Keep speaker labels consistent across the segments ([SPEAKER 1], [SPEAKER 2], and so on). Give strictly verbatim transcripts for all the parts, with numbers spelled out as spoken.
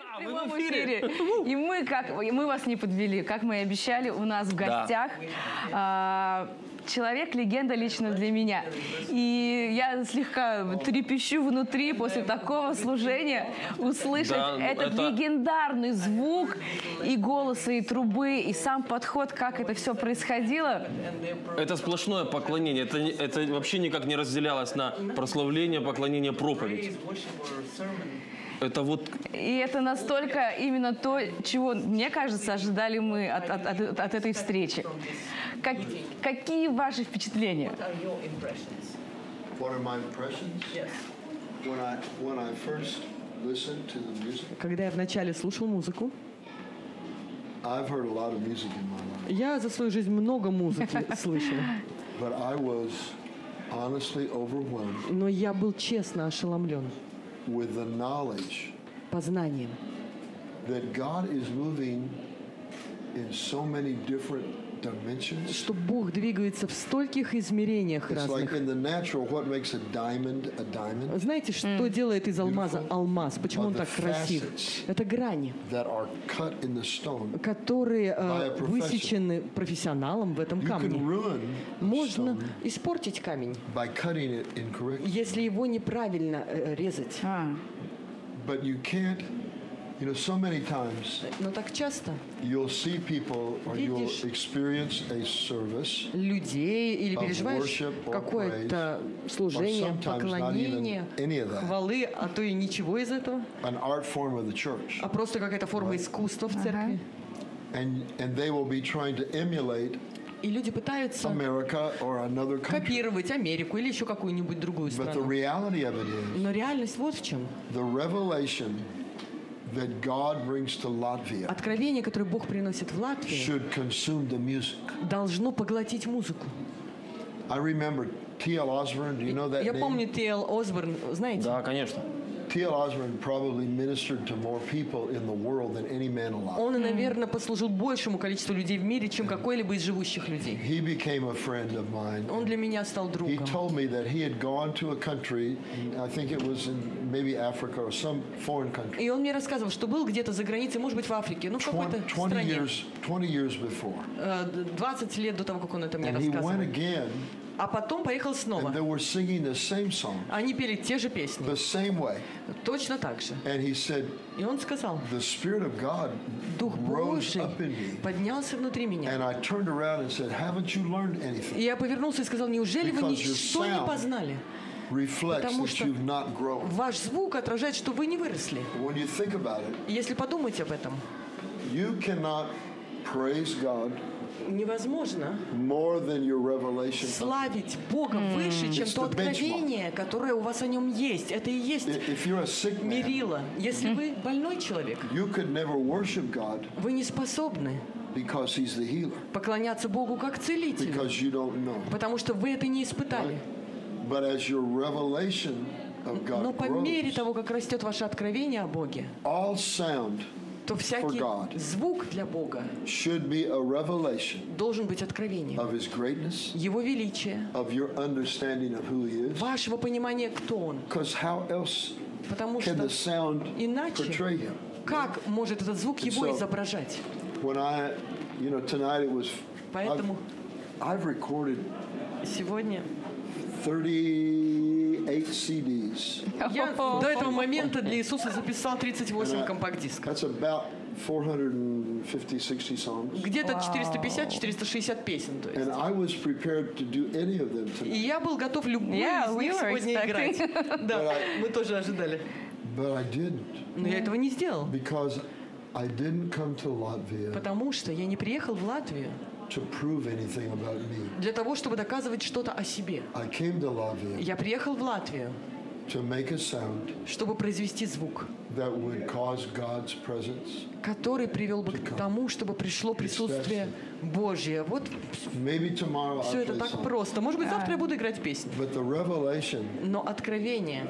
[SPEAKER 1] в прямом эфире. И мы, как, и мы вас не подвели. Как мы и обещали, у нас в гостях да. э, человек, легенда лично для меня. И я слегка трепещу внутри после такого служения услышать да, этот это... легендарный звук и голоса, и трубы, и сам подход, как это все происходило.
[SPEAKER 2] Это сплошное поклонение. Это, это вообще никак не разделялось на прославление, поклонение, проповедь. Это вот...
[SPEAKER 1] И это настолько именно то, чего, мне кажется, ожидали мы от, от, от, от этой встречи. Как, какие ваши впечатления?
[SPEAKER 3] Когда я вначале слушал музыку, я за свою жизнь много музыки слышал. Но я был честно ошеломлен
[SPEAKER 4] with the knowledge
[SPEAKER 3] познанием,
[SPEAKER 4] that God is moving in so many different dimensions.
[SPEAKER 3] Что Бог двигается в стольких измерениях разных.
[SPEAKER 4] Like in the natural, what makes a diamond a diamond?
[SPEAKER 3] Знаете, что mm. делает из алмаза алмаз? Почему он так красив? Это грани,
[SPEAKER 4] that are cut in the stone
[SPEAKER 3] которые э, высечены профессионалом в этом камне. Можно испортить камень,
[SPEAKER 4] by cutting it incorrectly.
[SPEAKER 3] Если его неправильно э, резать.
[SPEAKER 1] Ah.
[SPEAKER 4] But you can't. You know, so many times
[SPEAKER 3] Но так часто
[SPEAKER 4] you'll see people or you'll experience a service
[SPEAKER 3] людей или переживаешь какое-то служение, поклонение, хвалы, а то и ничего из этого,
[SPEAKER 4] an art form of the church.
[SPEAKER 3] А просто какая-то форма искусства в церкви.
[SPEAKER 4] And and they will be trying to emulate
[SPEAKER 3] И люди пытаются копировать Америку или еще какую-нибудь другую страну. Но реальность вот в чем.
[SPEAKER 4] That God brings to Latvia
[SPEAKER 3] Откровение, которое Бог приносит в Латвию,
[SPEAKER 4] should consume the music.
[SPEAKER 3] Должно поглотить музыку.
[SPEAKER 4] I remember T L Osborne. Do you know that
[SPEAKER 3] Я
[SPEAKER 4] name?
[SPEAKER 3] помню Т Л Осборн, знаете?
[SPEAKER 2] Да, конечно.
[SPEAKER 4] T L Osborne probably ministered to more people in the world than any man alive.
[SPEAKER 3] Он, наверное, послужил большему количеству людей в мире, чем какой-либо из живущих людей.
[SPEAKER 4] He became a friend of mine.
[SPEAKER 3] Он для меня стал другом.
[SPEAKER 4] He told me that he had gone to a country, I think it was in maybe Africa or some foreign country.
[SPEAKER 3] И он мне рассказывал, что был где-то за границей, может быть, в Африке, ну в какой-то стране.
[SPEAKER 4] twenty years before.
[SPEAKER 3] двадцать лет до того, как он это мне
[SPEAKER 4] And
[SPEAKER 3] рассказывал.
[SPEAKER 4] He went again.
[SPEAKER 3] А потом поехал снова.
[SPEAKER 4] And they were singing the same songs.
[SPEAKER 3] Они пели те же песни.
[SPEAKER 4] The same way.
[SPEAKER 3] Точно так же.
[SPEAKER 4] And he said,
[SPEAKER 3] И он сказал,
[SPEAKER 4] the Spirit of God
[SPEAKER 3] Дух Божий
[SPEAKER 4] rose up in me.
[SPEAKER 3] поднялся внутри меня.
[SPEAKER 4] And I turned around and said, haven't you learned anything?
[SPEAKER 3] И я повернулся и сказал, неужели вы ничто не познали? Потому что ваш звук отражает, что вы не выросли.
[SPEAKER 4] When you think about it,
[SPEAKER 3] если подумать об этом,
[SPEAKER 4] you cannot praise God
[SPEAKER 3] невозможно
[SPEAKER 4] more than your revelation
[SPEAKER 3] славить Бога mm. выше, чем It's то откровение, которое у вас о нем есть. Это и есть мерило. Если mm. вы больной человек,
[SPEAKER 4] you could never worship God
[SPEAKER 3] вы не способны
[SPEAKER 4] because he's the healer.
[SPEAKER 3] поклоняться Богу как целителю,
[SPEAKER 4] because you don't know.
[SPEAKER 3] Потому что вы это не испытали.
[SPEAKER 4] Right? But as your revelation of God
[SPEAKER 3] Но по мере
[SPEAKER 4] grows,
[SPEAKER 3] того, как растет ваше откровение о Боге,
[SPEAKER 4] all sound
[SPEAKER 3] то всякий звук для Бога
[SPEAKER 4] should be a revelation
[SPEAKER 3] должен быть откровением
[SPEAKER 4] of his greatness,
[SPEAKER 3] Его величия,
[SPEAKER 4] of your understanding of who he is,
[SPEAKER 3] вашего понимания, кто Он.
[SPEAKER 4] Because how else
[SPEAKER 3] Потому
[SPEAKER 4] can
[SPEAKER 3] что
[SPEAKER 4] the sound
[SPEAKER 3] иначе
[SPEAKER 4] portray him?
[SPEAKER 3] Как может этот звук Его
[SPEAKER 4] so,
[SPEAKER 3] изображать?
[SPEAKER 4] When I, you know, tonight it was,
[SPEAKER 3] Поэтому
[SPEAKER 4] I've, I've recorded
[SPEAKER 3] сегодня
[SPEAKER 4] thirty-eight си дис.
[SPEAKER 3] Я до этого момента для Иисуса записал тридцать восемь компакт-дисков.
[SPEAKER 4] That's about four fifty, sixty songs.
[SPEAKER 3] Где-то четыреста пятьдесят четыреста шестьдят песен. То есть.
[SPEAKER 4] And I was prepared to do any of them tonight.
[SPEAKER 3] И я был готов любую yeah, из них сегодня играть. Да, мы тоже ожидали.
[SPEAKER 4] But I didn't.
[SPEAKER 3] Но я этого не сделал.
[SPEAKER 4] Because I didn't come to Latvia.
[SPEAKER 3] Потому что я не приехал в Латвию.
[SPEAKER 4] To prove anything about me.
[SPEAKER 3] Для того, чтобы доказывать что-то о себе.
[SPEAKER 4] I came to Latvia.
[SPEAKER 3] Я приехал в Латвию.
[SPEAKER 4] To make a sound.
[SPEAKER 3] Чтобы произвести звук.
[SPEAKER 4] That would cause God's presence.
[SPEAKER 3] Который привел бы к тому, чтобы пришло присутствие Божье. Вот.
[SPEAKER 4] Maybe tomorrow.
[SPEAKER 3] Все это так просто. Может быть, завтра я буду играть песни.
[SPEAKER 4] But the revelation.
[SPEAKER 3] Но откровение.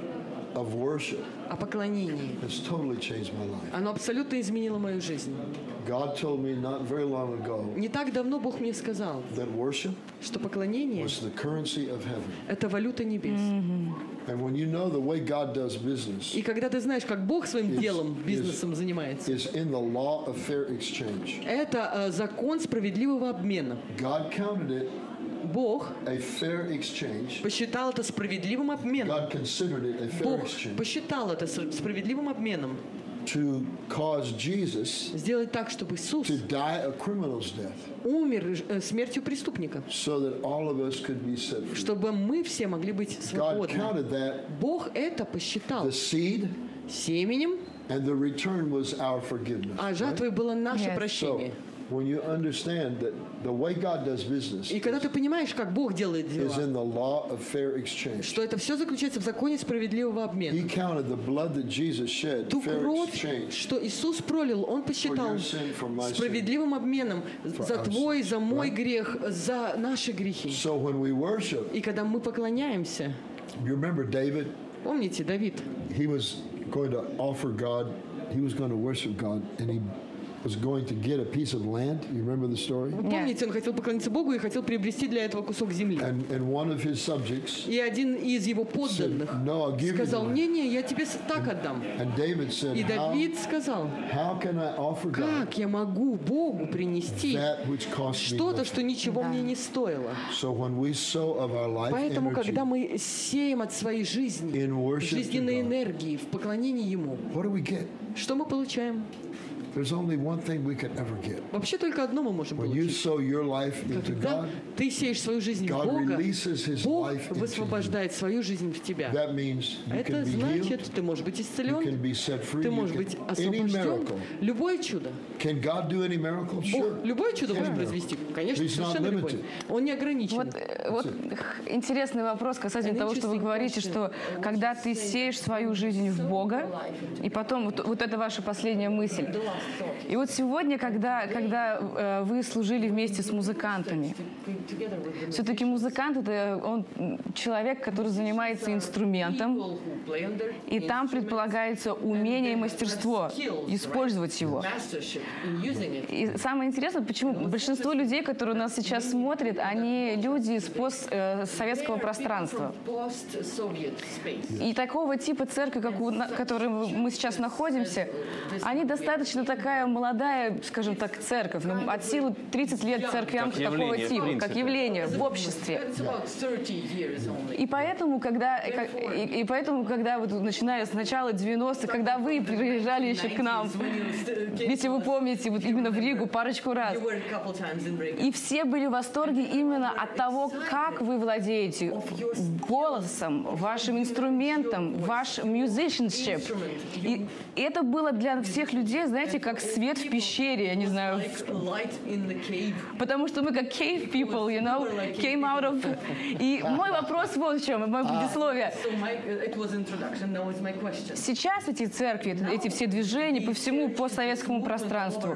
[SPEAKER 4] of worship
[SPEAKER 3] о поклонении,
[SPEAKER 4] has totally changed my life.
[SPEAKER 3] оно абсолютно изменило мою жизнь.
[SPEAKER 4] God told me not very long ago
[SPEAKER 3] Не так давно Бог мне сказал,
[SPEAKER 4] that worship
[SPEAKER 3] что поклонение
[SPEAKER 4] was the currency of heaven.
[SPEAKER 3] – это валюта небес.
[SPEAKER 4] And when you know the way God does business
[SPEAKER 3] И когда ты знаешь, как Бог своим
[SPEAKER 4] Is-
[SPEAKER 3] делом,
[SPEAKER 4] is-
[SPEAKER 3] бизнесом занимается,
[SPEAKER 4] is in the law of fair exchange.
[SPEAKER 3] это э, закон справедливого обмена.
[SPEAKER 4] God counted it
[SPEAKER 3] Бог
[SPEAKER 4] a fair exchange.
[SPEAKER 3] посчитал это справедливым обменом.
[SPEAKER 4] God considered it a fair
[SPEAKER 3] Бог
[SPEAKER 4] exchange
[SPEAKER 3] посчитал это с- справедливым обменом.
[SPEAKER 4] to cause Jesus
[SPEAKER 3] Сделать так, чтобы Иисус
[SPEAKER 4] to die a criminal's death
[SPEAKER 3] умер э, смертью преступника,
[SPEAKER 4] so that all of us could be set free.
[SPEAKER 3] чтобы мы все могли быть
[SPEAKER 4] God
[SPEAKER 3] свободны.
[SPEAKER 4] counted that
[SPEAKER 3] Бог это посчитал
[SPEAKER 4] the seed
[SPEAKER 3] семенем,
[SPEAKER 4] and the return was our forgiveness.
[SPEAKER 3] а
[SPEAKER 4] right?
[SPEAKER 3] жатвой было наше
[SPEAKER 1] Yes.
[SPEAKER 4] So
[SPEAKER 3] прощение.
[SPEAKER 4] when you understand that the way God does business
[SPEAKER 3] И когда ты понимаешь, как Бог делает
[SPEAKER 4] is
[SPEAKER 3] дела,
[SPEAKER 4] in the law of fair exchange,
[SPEAKER 3] что это все заключается в законе справедливого
[SPEAKER 4] He
[SPEAKER 3] обмена.
[SPEAKER 4] counted the blood that Jesus shed,
[SPEAKER 3] Ту
[SPEAKER 4] fair
[SPEAKER 3] кровь,
[SPEAKER 4] exchange.
[SPEAKER 3] что Иисус пролил, Он посчитал
[SPEAKER 4] For your sin, for my sin.
[SPEAKER 3] справедливым обменом за
[SPEAKER 4] our
[SPEAKER 3] твой,
[SPEAKER 4] sins,
[SPEAKER 3] за мой
[SPEAKER 4] right?
[SPEAKER 3] грех, за наши грехи.
[SPEAKER 4] So when we worship,
[SPEAKER 3] И когда мы поклоняемся,
[SPEAKER 4] you remember David,
[SPEAKER 3] помните, Давид,
[SPEAKER 4] he was going to offer God, he was going to worship God, and he was going to get a piece of land. You remember the story?
[SPEAKER 3] вы помните, он хотел поклониться Богу и хотел приобрести для этого кусок земли.
[SPEAKER 4] And, and one of his subjects
[SPEAKER 3] И один из его подданных
[SPEAKER 4] said, "No, I'll give you
[SPEAKER 3] сказал,
[SPEAKER 4] the land."
[SPEAKER 3] не-не, я тебе с- так отдам.
[SPEAKER 4] And David said,
[SPEAKER 3] И
[SPEAKER 4] how,
[SPEAKER 3] Давид сказал,
[SPEAKER 4] how can I offer God
[SPEAKER 3] как я могу Богу принести
[SPEAKER 4] that which cost me
[SPEAKER 3] что-то,
[SPEAKER 4] nothing?
[SPEAKER 3] что ничего мне не стоило?
[SPEAKER 4] So when we sow of our life
[SPEAKER 3] Поэтому,
[SPEAKER 4] energy,
[SPEAKER 3] когда мы сеем от своей жизни,
[SPEAKER 4] In worship to
[SPEAKER 3] жизненной
[SPEAKER 4] God.
[SPEAKER 3] энергии, в поклонении Ему,
[SPEAKER 4] what do we get?
[SPEAKER 3] что мы получаем?
[SPEAKER 4] There's only one thing we could ever get.
[SPEAKER 3] Вообще только одно мы можем
[SPEAKER 4] When you
[SPEAKER 3] получить.
[SPEAKER 4] sow your life into
[SPEAKER 3] Когда
[SPEAKER 4] God,
[SPEAKER 3] ты сеешь свою жизнь в
[SPEAKER 4] God
[SPEAKER 3] Бога,
[SPEAKER 4] releases His
[SPEAKER 3] Бог
[SPEAKER 4] life into you.
[SPEAKER 3] высвобождает свою жизнь в тебя.
[SPEAKER 4] That means you
[SPEAKER 3] Это
[SPEAKER 4] can be
[SPEAKER 3] значит,
[SPEAKER 4] healed,
[SPEAKER 3] ты можешь быть
[SPEAKER 4] you
[SPEAKER 3] исцелен,
[SPEAKER 4] can be set free,
[SPEAKER 3] ты
[SPEAKER 4] you
[SPEAKER 3] можешь
[SPEAKER 4] can,
[SPEAKER 3] быть
[SPEAKER 4] any
[SPEAKER 3] освобожден.
[SPEAKER 4] miracle.
[SPEAKER 3] Любое чудо.
[SPEAKER 4] Can God do any miracle? Sure.
[SPEAKER 3] Бог любое чудо
[SPEAKER 4] Any
[SPEAKER 3] может
[SPEAKER 4] miracle.
[SPEAKER 3] произвести. Конечно,
[SPEAKER 4] He's not
[SPEAKER 3] совершенно любое.
[SPEAKER 4] limited.
[SPEAKER 3] Он не ограничен.
[SPEAKER 1] Вот, э, вот х- интересный вопрос касательно
[SPEAKER 3] An
[SPEAKER 1] того, что вы
[SPEAKER 3] interesting
[SPEAKER 1] говорите,
[SPEAKER 3] question.
[SPEAKER 1] что когда ты сеешь свою жизнь в Бога, и потом вот, вот это ваша последняя мысль. И вот сегодня, когда, когда э, вы служили вместе с музыкантами, все-таки музыкант это он м, человек, который занимается инструментом, и там предполагается умение и мастерство использовать его. И самое интересное, почему большинство людей, которые нас сейчас смотрят, они люди из постсоветского пространства. И такого типа церкви, как у, на которой мы сейчас находимся, они достаточно такая молодая, скажем так, церковь, ну, от силы тридцать лет церквям
[SPEAKER 2] Как
[SPEAKER 1] такого
[SPEAKER 2] явление, в
[SPEAKER 1] типа, как
[SPEAKER 2] принципе.
[SPEAKER 1] явление в обществе. И поэтому, когда, и, как- и- и поэтому, когда вот начиная с начала девяностых, когда вы приезжали еще к нам, если вы помните, вот именно в Ригу парочку раз, и все были в восторге именно от того, как вы владеете голосом, вашим инструментом, ваш musicianship. И это было для всех людей, знаете, как свет в пещере, я не знаю, потому что мы как cave people, you know, came out of... И мой вопрос вот в чем, мое предисловие. Сейчас эти церкви, эти все движения по всему постсоветскому пространству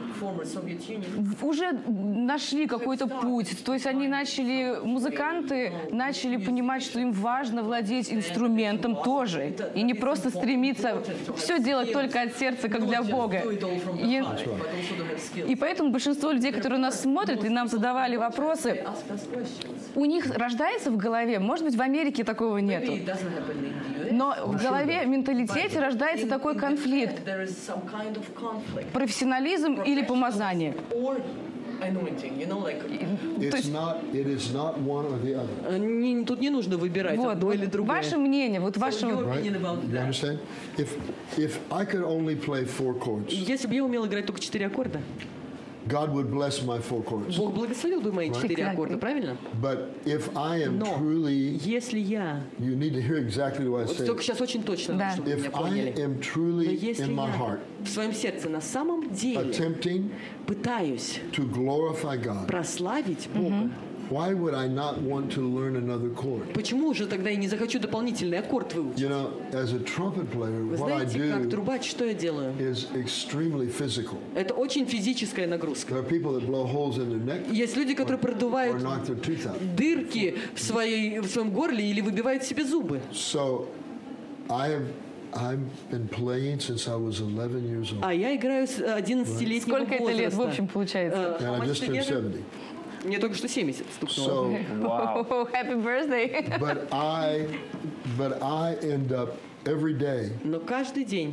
[SPEAKER 1] уже нашли какой-то путь. То есть они начали, музыканты начали понимать, что им важно владеть инструментом тоже. И не просто стремиться все делать только от сердца, как для Бога. И, и поэтому большинство людей, которые нас смотрят и нам задавали вопросы, у них рождается в голове, может быть, в Америке такого нету, но в голове, в менталитете рождается такой конфликт. Профессионализм или помазание.
[SPEAKER 4] It's
[SPEAKER 1] есть-
[SPEAKER 4] not, it is not one or the other.
[SPEAKER 3] Не- тут не нужно выбирать
[SPEAKER 1] Вот,
[SPEAKER 3] одно
[SPEAKER 1] вот
[SPEAKER 3] или другое.
[SPEAKER 1] ваше мнение, вот ваше... вот-
[SPEAKER 4] Right? You understand? If, if I could only play four chords,
[SPEAKER 3] Если бы я умел играть только четыре аккорда,
[SPEAKER 4] God would bless my four chords.
[SPEAKER 3] Бог благословил бы мои четыре
[SPEAKER 1] Exactly.
[SPEAKER 3] аккорда, правильно?
[SPEAKER 4] But if I am
[SPEAKER 3] Но
[SPEAKER 4] truly,
[SPEAKER 3] если я...
[SPEAKER 4] you need to hear exactly what I
[SPEAKER 3] Вот
[SPEAKER 4] say.
[SPEAKER 3] только сейчас очень точно,
[SPEAKER 1] Да.
[SPEAKER 3] чтобы вы меня
[SPEAKER 4] If I
[SPEAKER 3] поняли.
[SPEAKER 4] am
[SPEAKER 3] Но
[SPEAKER 4] truly
[SPEAKER 3] если
[SPEAKER 4] in my
[SPEAKER 3] я
[SPEAKER 4] heart
[SPEAKER 3] в своем сердце на самом деле
[SPEAKER 4] attempting
[SPEAKER 3] пытаюсь
[SPEAKER 4] to glorify God,
[SPEAKER 3] прославить Бога,
[SPEAKER 4] why would I not want to learn another chord?
[SPEAKER 3] почему же тогда я не захочу дополнительный аккорд выучить?
[SPEAKER 4] You know, as a trumpet player,
[SPEAKER 3] Вы
[SPEAKER 4] what I
[SPEAKER 3] знаете, как
[SPEAKER 4] do
[SPEAKER 3] трубач, что я делаю?
[SPEAKER 4] is extremely physical.
[SPEAKER 3] Это очень физическая нагрузка.
[SPEAKER 4] There are people that blow holes in their neck
[SPEAKER 3] Есть люди, которые
[SPEAKER 4] or
[SPEAKER 3] продувают
[SPEAKER 4] knock their teeth out.
[SPEAKER 3] дырки в, своей, в своем горле или выбивают себе зубы.
[SPEAKER 4] So I have I've been playing since I was eleven years old.
[SPEAKER 3] А я играю с одиннадцатилетнего
[SPEAKER 1] Сколько это лет, в
[SPEAKER 3] возраста.
[SPEAKER 1] общем, получается?
[SPEAKER 3] Э,
[SPEAKER 4] And I
[SPEAKER 3] how much
[SPEAKER 4] just turned
[SPEAKER 3] together?
[SPEAKER 4] seventy.
[SPEAKER 3] Мне только что семьдесят стукнуло.
[SPEAKER 4] So,
[SPEAKER 2] Вау.
[SPEAKER 1] Happy birthday!
[SPEAKER 4] but I, but I end up every day.
[SPEAKER 3] Но каждый день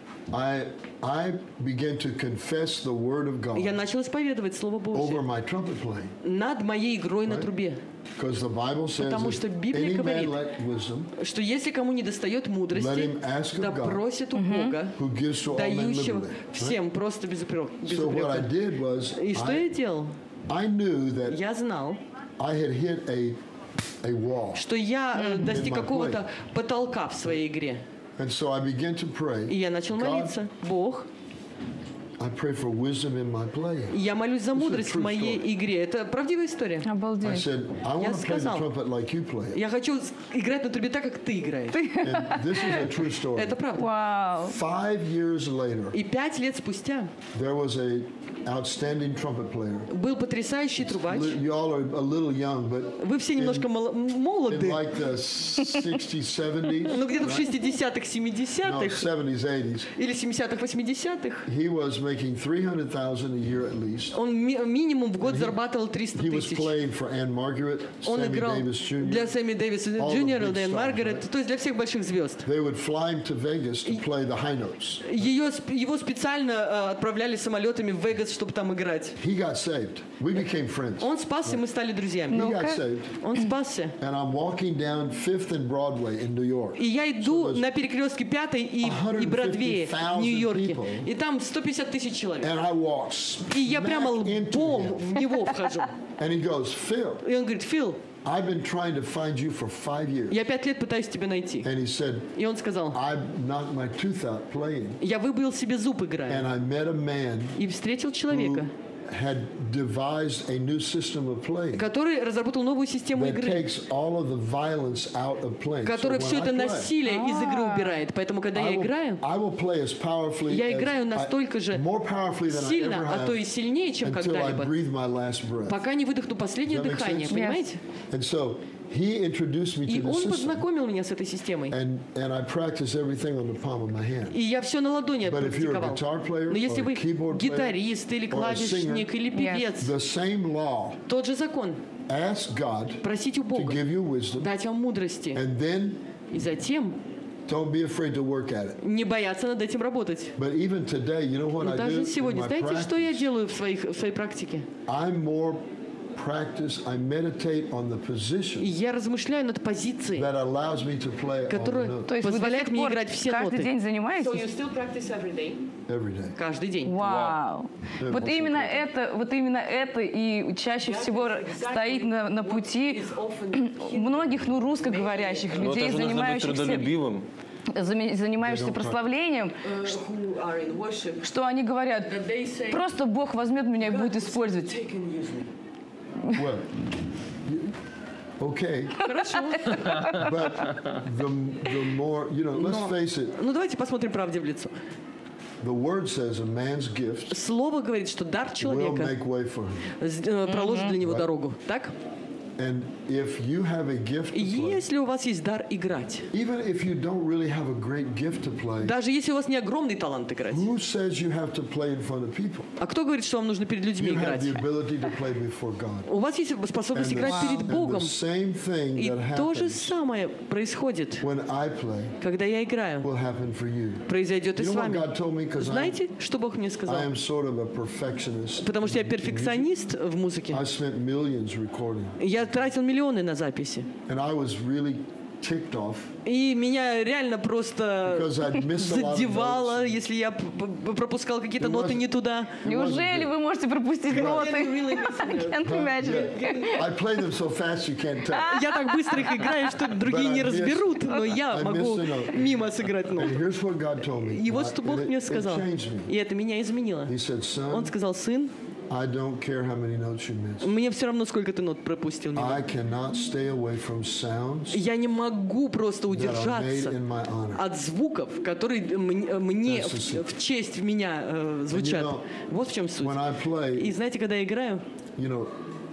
[SPEAKER 4] I I began to confess the word of
[SPEAKER 3] я
[SPEAKER 4] God
[SPEAKER 3] начал исповедовать Слово
[SPEAKER 4] over
[SPEAKER 3] Божье
[SPEAKER 4] my trumpet playing,
[SPEAKER 3] над моей игрой на
[SPEAKER 4] Right.
[SPEAKER 3] трубе.
[SPEAKER 4] because the Bible says,
[SPEAKER 3] Потому
[SPEAKER 4] if
[SPEAKER 3] что Библия
[SPEAKER 4] any man
[SPEAKER 3] говорит,
[SPEAKER 4] lack wisdom,
[SPEAKER 3] Что если кому не достает
[SPEAKER 4] let
[SPEAKER 3] мудрости,
[SPEAKER 4] him ask of
[SPEAKER 3] да
[SPEAKER 4] God,
[SPEAKER 3] просит у Бога,
[SPEAKER 4] who gives to all men
[SPEAKER 3] дающего
[SPEAKER 4] liberally. Right?
[SPEAKER 3] всем просто без упрека. без
[SPEAKER 4] So what I
[SPEAKER 3] упрека.
[SPEAKER 4] did was,
[SPEAKER 3] И что я
[SPEAKER 4] I,
[SPEAKER 3] делал?
[SPEAKER 4] I knew that
[SPEAKER 3] Я знал,
[SPEAKER 4] I had hit a a wall,
[SPEAKER 3] что я э, достиг
[SPEAKER 4] In my
[SPEAKER 3] какого-то потолка в своей игре.
[SPEAKER 4] and so I began to
[SPEAKER 3] И
[SPEAKER 4] pray.
[SPEAKER 3] я начал
[SPEAKER 4] God,
[SPEAKER 3] молиться. Бог,
[SPEAKER 4] I pray for wisdom in my playing.
[SPEAKER 3] я молюсь за
[SPEAKER 4] This is a
[SPEAKER 3] мудрость в
[SPEAKER 4] true
[SPEAKER 3] моей
[SPEAKER 4] story.
[SPEAKER 3] игре. Это правдивая история.
[SPEAKER 4] I
[SPEAKER 1] Обалдеть.
[SPEAKER 4] said, I want to play the
[SPEAKER 3] сказал.
[SPEAKER 4] trumpet like you play it.
[SPEAKER 3] Я хочу с- играть на трубе так, как ты играешь.
[SPEAKER 4] And this is a true story.
[SPEAKER 3] Это правда.
[SPEAKER 1] Вау!
[SPEAKER 4] Five years later,
[SPEAKER 3] И пять лет спустя
[SPEAKER 4] there was a outstanding trumpet player.
[SPEAKER 3] был потрясающий трубач.
[SPEAKER 4] Li- You all are a little young, but
[SPEAKER 3] Вы все немножко мол- м-
[SPEAKER 4] in
[SPEAKER 3] молоды.
[SPEAKER 4] like the sixties, seventies,
[SPEAKER 3] Ну, где-то в
[SPEAKER 4] right?
[SPEAKER 3] шестидесятых,
[SPEAKER 4] no,
[SPEAKER 3] семидесятых
[SPEAKER 4] seventies, eighties,
[SPEAKER 3] или семидесятых, восьмидесятых.
[SPEAKER 4] he was making three hundred thousand a year at least.
[SPEAKER 3] Он ми- минимум в год зарабатывал триста
[SPEAKER 4] He was
[SPEAKER 3] тысяч.
[SPEAKER 4] playing for Ann Margaret,
[SPEAKER 3] Он
[SPEAKER 4] Sammy
[SPEAKER 3] играл
[SPEAKER 4] Davis
[SPEAKER 3] для
[SPEAKER 4] Junior
[SPEAKER 3] Сэмми Дэвиса
[SPEAKER 4] All the
[SPEAKER 3] Джуниора,
[SPEAKER 4] big
[SPEAKER 3] Дэн
[SPEAKER 4] stars,
[SPEAKER 3] Маргарет,
[SPEAKER 4] right?
[SPEAKER 3] то есть для всех больших звезд.
[SPEAKER 4] They would fly him to Vegas to play the high notes.
[SPEAKER 3] Ее, сп- его специально э, отправляли самолетами в Вегас, чтобы там играть.
[SPEAKER 4] He got saved. We became friends.
[SPEAKER 3] Он спасся, мы стали друзьями.
[SPEAKER 4] He got
[SPEAKER 1] Okay.
[SPEAKER 4] saved.
[SPEAKER 3] Он спасся.
[SPEAKER 4] And I'm walking down Fifth and Broadway in New York.
[SPEAKER 3] И я иду
[SPEAKER 4] So there's
[SPEAKER 3] на перекрестке Пятой и, и Бродвее в Нью-Йорке. И там сто пятьдесят тысяч человек.
[SPEAKER 4] And I walk
[SPEAKER 3] И я прямо
[SPEAKER 4] smack into
[SPEAKER 3] лбом
[SPEAKER 4] him.
[SPEAKER 3] в него вхожу.
[SPEAKER 4] And he goes, Phil,
[SPEAKER 3] И он говорит: Фил,
[SPEAKER 4] I've been trying to find you for five years.
[SPEAKER 3] я пять лет пытаюсь тебя найти.
[SPEAKER 4] And he said,
[SPEAKER 3] И он сказал:
[SPEAKER 4] I knocked my tooth out playing.
[SPEAKER 3] я выбил себе зуб, играя.
[SPEAKER 4] And I met a man
[SPEAKER 3] И встретил
[SPEAKER 4] who
[SPEAKER 3] человека,
[SPEAKER 4] had devised a new system of playing
[SPEAKER 3] который разработал новую систему
[SPEAKER 4] that
[SPEAKER 3] игры,
[SPEAKER 4] takes all of the violence out of playing. So
[SPEAKER 3] которая
[SPEAKER 4] when
[SPEAKER 3] все
[SPEAKER 4] I
[SPEAKER 3] это
[SPEAKER 4] play,
[SPEAKER 3] насилие из игры убирает. Поэтому, когда
[SPEAKER 4] I
[SPEAKER 3] я
[SPEAKER 4] will,
[SPEAKER 3] играю,
[SPEAKER 4] I will play as powerfully
[SPEAKER 3] я
[SPEAKER 4] as
[SPEAKER 3] играю
[SPEAKER 4] I-
[SPEAKER 3] настолько же
[SPEAKER 4] more powerfully than I ever
[SPEAKER 3] сильно, а то и
[SPEAKER 4] have
[SPEAKER 3] сильнее, чем
[SPEAKER 4] until I
[SPEAKER 3] когда-либо,
[SPEAKER 4] breathe my last breath.
[SPEAKER 3] пока не выдохну последнее
[SPEAKER 4] Does that make
[SPEAKER 3] дыхание,
[SPEAKER 4] sense?
[SPEAKER 3] понимаете?
[SPEAKER 4] And so he introduced me
[SPEAKER 3] И
[SPEAKER 4] to the
[SPEAKER 3] он
[SPEAKER 4] system,
[SPEAKER 3] познакомил меня с этой системой.
[SPEAKER 4] and and I practice everything on the palm of my hand.
[SPEAKER 3] И я все на ладони
[SPEAKER 4] But if you're a
[SPEAKER 3] практиковал.
[SPEAKER 4] guitar player
[SPEAKER 3] Но если
[SPEAKER 4] or a
[SPEAKER 3] вы
[SPEAKER 4] keyboard player
[SPEAKER 3] гитарист или
[SPEAKER 4] or a
[SPEAKER 3] клавишник
[SPEAKER 4] singer,
[SPEAKER 3] или
[SPEAKER 1] Yes.
[SPEAKER 3] певец,
[SPEAKER 4] The same law.
[SPEAKER 3] тот же закон.
[SPEAKER 4] Ask God
[SPEAKER 3] Просите у
[SPEAKER 4] to
[SPEAKER 3] Бога
[SPEAKER 4] give you wisdom,
[SPEAKER 3] дать вам мудрости.
[SPEAKER 4] and then
[SPEAKER 3] И затем
[SPEAKER 4] don't be afraid to work at it.
[SPEAKER 3] не бояться над этим работать.
[SPEAKER 4] But even today, you know what
[SPEAKER 3] Но
[SPEAKER 4] I do
[SPEAKER 3] даже
[SPEAKER 4] in
[SPEAKER 3] сегодня,
[SPEAKER 4] my
[SPEAKER 3] знаете, что я
[SPEAKER 4] practice?
[SPEAKER 3] делаю в, своих, в своей практике?
[SPEAKER 4] I'm more practice. I meditate on the
[SPEAKER 3] И
[SPEAKER 4] position
[SPEAKER 3] я размышляю над позицией,
[SPEAKER 4] that allows me to play all the
[SPEAKER 3] которая
[SPEAKER 4] notes
[SPEAKER 1] То есть вы до
[SPEAKER 3] позволяет
[SPEAKER 1] сих
[SPEAKER 3] мне
[SPEAKER 1] пор
[SPEAKER 3] играть все
[SPEAKER 1] каждый
[SPEAKER 3] ноты.
[SPEAKER 1] день
[SPEAKER 3] So you
[SPEAKER 1] занимаетесь?
[SPEAKER 3] still practice every day?
[SPEAKER 4] every day.
[SPEAKER 3] Каждый день.
[SPEAKER 1] Вау!
[SPEAKER 4] Да,
[SPEAKER 1] Вот
[SPEAKER 4] очень
[SPEAKER 1] именно
[SPEAKER 4] круто.
[SPEAKER 1] это, вот именно это и чаще всего стоит на, на пути у многих, ну, русскоговорящих
[SPEAKER 2] Но
[SPEAKER 1] людей,
[SPEAKER 2] это же нужно быть
[SPEAKER 1] занимающихся,
[SPEAKER 2] трудолюбивым.
[SPEAKER 1] заме- занимающихся
[SPEAKER 4] They don't
[SPEAKER 1] прославлением,
[SPEAKER 3] Who are in worship,
[SPEAKER 1] что они говорят:
[SPEAKER 3] that they say,
[SPEAKER 1] просто Бог возьмет меня и будет использовать.
[SPEAKER 3] take and use me.
[SPEAKER 4] Well, you- okay,
[SPEAKER 3] Хорошо.
[SPEAKER 4] but the the more you know. Let's
[SPEAKER 3] Но-
[SPEAKER 4] face it.
[SPEAKER 3] Ну давайте посмотрим правде в лицо.
[SPEAKER 4] The word says a man's gift
[SPEAKER 3] Слово говорит, что дар
[SPEAKER 4] will
[SPEAKER 3] человека
[SPEAKER 4] make way for him.
[SPEAKER 3] с- э, проложит для него
[SPEAKER 4] Right.
[SPEAKER 3] дорогу. Так?
[SPEAKER 4] And if you have a gift to
[SPEAKER 3] И
[SPEAKER 4] play,
[SPEAKER 3] если у вас есть дар играть,
[SPEAKER 4] even if you don't really have a great gift to play,
[SPEAKER 3] даже если у вас не огромный талант играть,
[SPEAKER 4] who says you have to play in front of people?
[SPEAKER 3] а кто говорит, что вам нужно перед людьми
[SPEAKER 4] You have
[SPEAKER 3] играть?
[SPEAKER 4] the ability to play before God.
[SPEAKER 3] У вас есть
[SPEAKER 4] And
[SPEAKER 3] способность
[SPEAKER 4] the,
[SPEAKER 3] играть перед
[SPEAKER 4] and the
[SPEAKER 3] Богом.
[SPEAKER 4] same thing
[SPEAKER 3] И
[SPEAKER 4] that
[SPEAKER 3] то же
[SPEAKER 4] happens
[SPEAKER 3] самое происходит,
[SPEAKER 4] when I play
[SPEAKER 3] когда я играю.
[SPEAKER 4] will happen for you.
[SPEAKER 3] Произойдет и
[SPEAKER 4] You
[SPEAKER 3] с
[SPEAKER 4] know what
[SPEAKER 3] вами.
[SPEAKER 4] God told me? Because I,
[SPEAKER 3] Знаете, что Бог мне
[SPEAKER 4] I
[SPEAKER 3] сказал?
[SPEAKER 4] am sort of a perfectionist.
[SPEAKER 3] Потому что я перфекционист в музыке.
[SPEAKER 4] I spent millions recording,
[SPEAKER 3] Я тратил миллионы на записи.
[SPEAKER 4] and I was really ticked off
[SPEAKER 3] И меня реально просто
[SPEAKER 4] because I'd missed a lot of
[SPEAKER 3] задевало,
[SPEAKER 4] notes.
[SPEAKER 3] если я п- п- пропускал какие-то
[SPEAKER 4] It
[SPEAKER 3] ноты
[SPEAKER 4] wasn't-
[SPEAKER 3] не туда.
[SPEAKER 1] Неужели вы можете пропустить ноты? Can't imagine.
[SPEAKER 4] Yeah. I play them so fast you can't tell.
[SPEAKER 3] Я так быстро их играю, что другие
[SPEAKER 4] But I
[SPEAKER 3] не
[SPEAKER 4] missed-
[SPEAKER 3] разберут, но я
[SPEAKER 4] I
[SPEAKER 3] могу
[SPEAKER 4] missed a note.
[SPEAKER 3] мимо сыграть
[SPEAKER 4] And
[SPEAKER 3] ноту.
[SPEAKER 4] here's what God told me.
[SPEAKER 3] И вот
[SPEAKER 4] And
[SPEAKER 3] что
[SPEAKER 4] I-
[SPEAKER 3] Бог
[SPEAKER 4] and
[SPEAKER 3] мне
[SPEAKER 4] it- it
[SPEAKER 3] сказал.
[SPEAKER 4] changed me.
[SPEAKER 3] И это меня изменило.
[SPEAKER 4] He said,
[SPEAKER 3] Он
[SPEAKER 4] son,
[SPEAKER 3] сказал: сын,
[SPEAKER 4] I don't care how many notes you miss.
[SPEAKER 3] мне все равно, сколько ты нот пропустил мимо.
[SPEAKER 4] I cannot stay away from sounds
[SPEAKER 3] Я не могу просто
[SPEAKER 4] that are made
[SPEAKER 3] удержаться
[SPEAKER 4] in my honor.
[SPEAKER 3] от звуков, которые мне, мне
[SPEAKER 4] That's the
[SPEAKER 3] в,
[SPEAKER 4] secret.
[SPEAKER 3] в честь в меня э, звучат.
[SPEAKER 4] know,
[SPEAKER 3] Вот в чем суть.
[SPEAKER 4] When I
[SPEAKER 3] И
[SPEAKER 4] play,
[SPEAKER 3] знаете, когда я играю,
[SPEAKER 4] you know,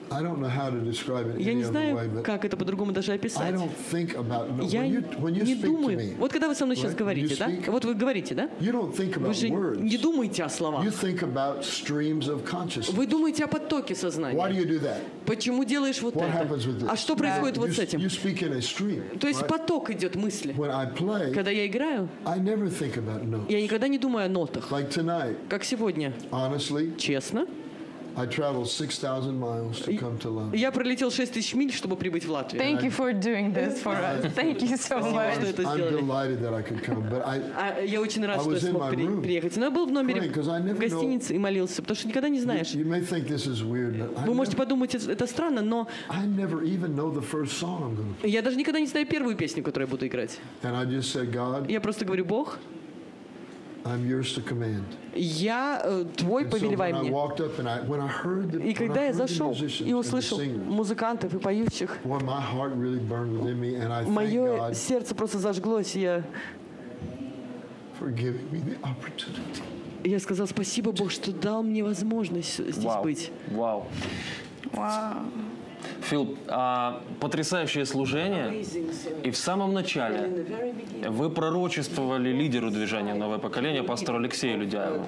[SPEAKER 4] I don't know how to describe it
[SPEAKER 3] Я
[SPEAKER 4] any
[SPEAKER 3] не
[SPEAKER 4] other way,
[SPEAKER 3] знаю,
[SPEAKER 4] but
[SPEAKER 3] как это по-другому даже
[SPEAKER 4] I
[SPEAKER 3] описать.
[SPEAKER 4] don't think about no,
[SPEAKER 3] Я
[SPEAKER 4] when you when you
[SPEAKER 3] не
[SPEAKER 4] speak to
[SPEAKER 3] думаю.
[SPEAKER 4] me.
[SPEAKER 3] Вот когда вы со мной сейчас
[SPEAKER 4] right?
[SPEAKER 3] говорите,
[SPEAKER 4] You
[SPEAKER 3] да?
[SPEAKER 4] speak,
[SPEAKER 3] Вот вы говорите, да?
[SPEAKER 4] You don't think
[SPEAKER 3] Вы
[SPEAKER 4] about
[SPEAKER 3] же
[SPEAKER 4] words.
[SPEAKER 3] не думаете о словах.
[SPEAKER 4] You think about streams of consciousness.
[SPEAKER 3] Вы думаете о потоке
[SPEAKER 4] Why do
[SPEAKER 3] сознания.
[SPEAKER 4] you do that?
[SPEAKER 3] Почему делаешь вот
[SPEAKER 4] What
[SPEAKER 3] это?
[SPEAKER 4] happens with this?
[SPEAKER 3] А что происходит вот
[SPEAKER 4] You,
[SPEAKER 3] с этим?
[SPEAKER 4] you speak in a stream.
[SPEAKER 3] То есть
[SPEAKER 4] right?
[SPEAKER 3] поток идет мысли.
[SPEAKER 4] When I play,
[SPEAKER 3] Когда я играю,
[SPEAKER 4] I never think about notes.
[SPEAKER 3] я никогда не думаю о нотах.
[SPEAKER 4] Like tonight,
[SPEAKER 3] Как сегодня.
[SPEAKER 4] honestly,
[SPEAKER 3] Честно.
[SPEAKER 4] I traveled six thousand miles to come to London.
[SPEAKER 3] Я пролетел шесть тысяч миль, чтобы прибыть в Латвию.
[SPEAKER 1] Thank you for doing this for us. Thank you so
[SPEAKER 3] Что
[SPEAKER 1] much.
[SPEAKER 3] это
[SPEAKER 4] I'm
[SPEAKER 3] сделали.
[SPEAKER 4] delighted that I could come, but I,
[SPEAKER 3] А я очень рад,
[SPEAKER 4] I
[SPEAKER 3] что я
[SPEAKER 4] was in
[SPEAKER 3] смог
[SPEAKER 4] my
[SPEAKER 3] при-
[SPEAKER 4] room
[SPEAKER 3] приехать. Но я был в номере
[SPEAKER 4] praying, 'cause I never
[SPEAKER 3] в гостинице и молился, потому что никогда не знаешь.
[SPEAKER 4] you may think this is weird, but I
[SPEAKER 3] Вы можете
[SPEAKER 4] never,
[SPEAKER 3] подумать, это это странно, но
[SPEAKER 4] I never even know the first song I'm going to
[SPEAKER 3] я даже никогда не знаю первую песню, которую я буду играть.
[SPEAKER 4] And I just said, God,
[SPEAKER 3] Я просто говорю, Бог,
[SPEAKER 4] I'm yours to command.
[SPEAKER 3] я э, твой,
[SPEAKER 4] And so
[SPEAKER 3] повелевай
[SPEAKER 4] when I
[SPEAKER 3] мне.
[SPEAKER 4] walked up and I, when I heard the,
[SPEAKER 3] И
[SPEAKER 4] when
[SPEAKER 3] когда
[SPEAKER 4] I
[SPEAKER 3] я
[SPEAKER 4] heard the
[SPEAKER 3] зашел
[SPEAKER 4] musicians
[SPEAKER 3] и
[SPEAKER 4] and the
[SPEAKER 3] услышал
[SPEAKER 4] singers,
[SPEAKER 3] музыкантов и поющих,
[SPEAKER 4] boy, my heart really burned within me, and I thank
[SPEAKER 3] мое
[SPEAKER 4] God
[SPEAKER 3] сердце просто зажглось, и я,
[SPEAKER 4] for giving me the opportunity.
[SPEAKER 3] я сказал, спасибо, Бог, что дал мне возможность здесь
[SPEAKER 2] Вау.
[SPEAKER 3] быть.
[SPEAKER 2] Вау.
[SPEAKER 1] Вау.
[SPEAKER 2] Фил, а, потрясающее служение. И в самом начале вы пророчествовали лидеру движения «Новое поколение», пастору Алексею Людяеву,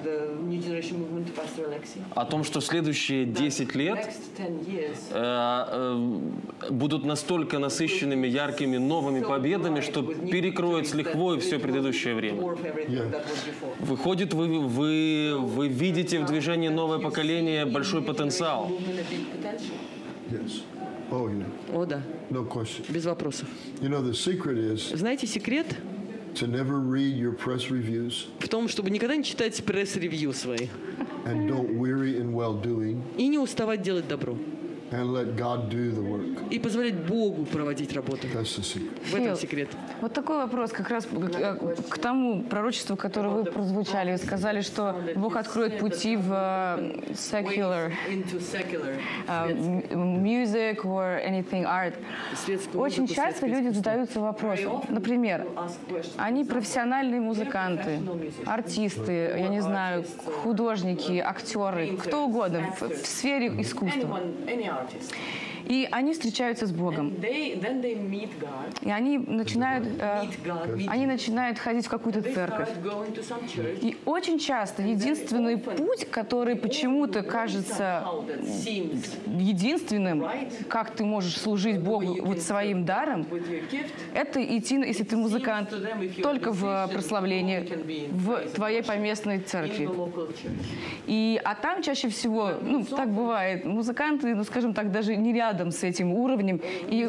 [SPEAKER 2] о том, что следующие десять лет э, э, будут настолько насыщенными, яркими, новыми победами, что перекроет с лихвой все предыдущее время. Выходит, вы, вы, вы видите в движении «Новое поколение» большой потенциал.
[SPEAKER 4] Yes. Oh, yeah.
[SPEAKER 3] О, да,
[SPEAKER 4] No question.
[SPEAKER 3] без вопросов.
[SPEAKER 4] You know, the secret is
[SPEAKER 3] Знаете, секрет
[SPEAKER 4] to never read your press reviews
[SPEAKER 3] в том, чтобы никогда не читать пресс-ревью свои
[SPEAKER 4] and don't weary in well-doing
[SPEAKER 3] и не уставать делать добро.
[SPEAKER 4] and let God do the work.
[SPEAKER 3] И позволять Богу проводить работу.
[SPEAKER 4] That's the secret.
[SPEAKER 3] В этом
[SPEAKER 1] Фил,
[SPEAKER 3] секрет.
[SPEAKER 1] Вот такой вопрос как раз к, к тому пророчеству, которое вы прозвучали. Вы сказали, что Бог откроет пути в э, secular э, м- music or anything art.
[SPEAKER 3] Светскую
[SPEAKER 1] Очень
[SPEAKER 3] музыку,
[SPEAKER 1] часто
[SPEAKER 3] светское
[SPEAKER 1] люди
[SPEAKER 3] искусство.
[SPEAKER 1] задаются вопросом. Например, они профессиональные музыканты, артисты, я не знаю, художники, актеры, кто угодно в, в сфере искусства. И они встречаются с Богом. И они начинают, э, они начинают ходить в какую-то церковь. И очень часто единственный путь, который почему-то кажется единственным, как ты можешь служить Богу вот своим даром, это идти, если ты музыкант, только в прославление, в твоей поместной церкви. И, а там чаще всего, ну, так бывает, музыканты, ну, скажем так, даже не рядом с этим уровнем. И,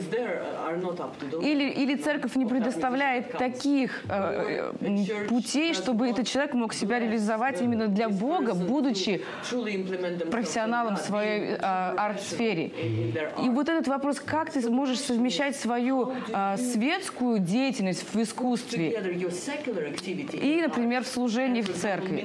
[SPEAKER 1] или, или церковь не предоставляет таких э, э, путей, чтобы этот человек мог себя реализовать именно для Бога, будучи профессионалом в своей э, арт-сфере. И вот этот вопрос, как ты можешь совмещать свою э, светскую деятельность в искусстве и, например, в служении в церкви.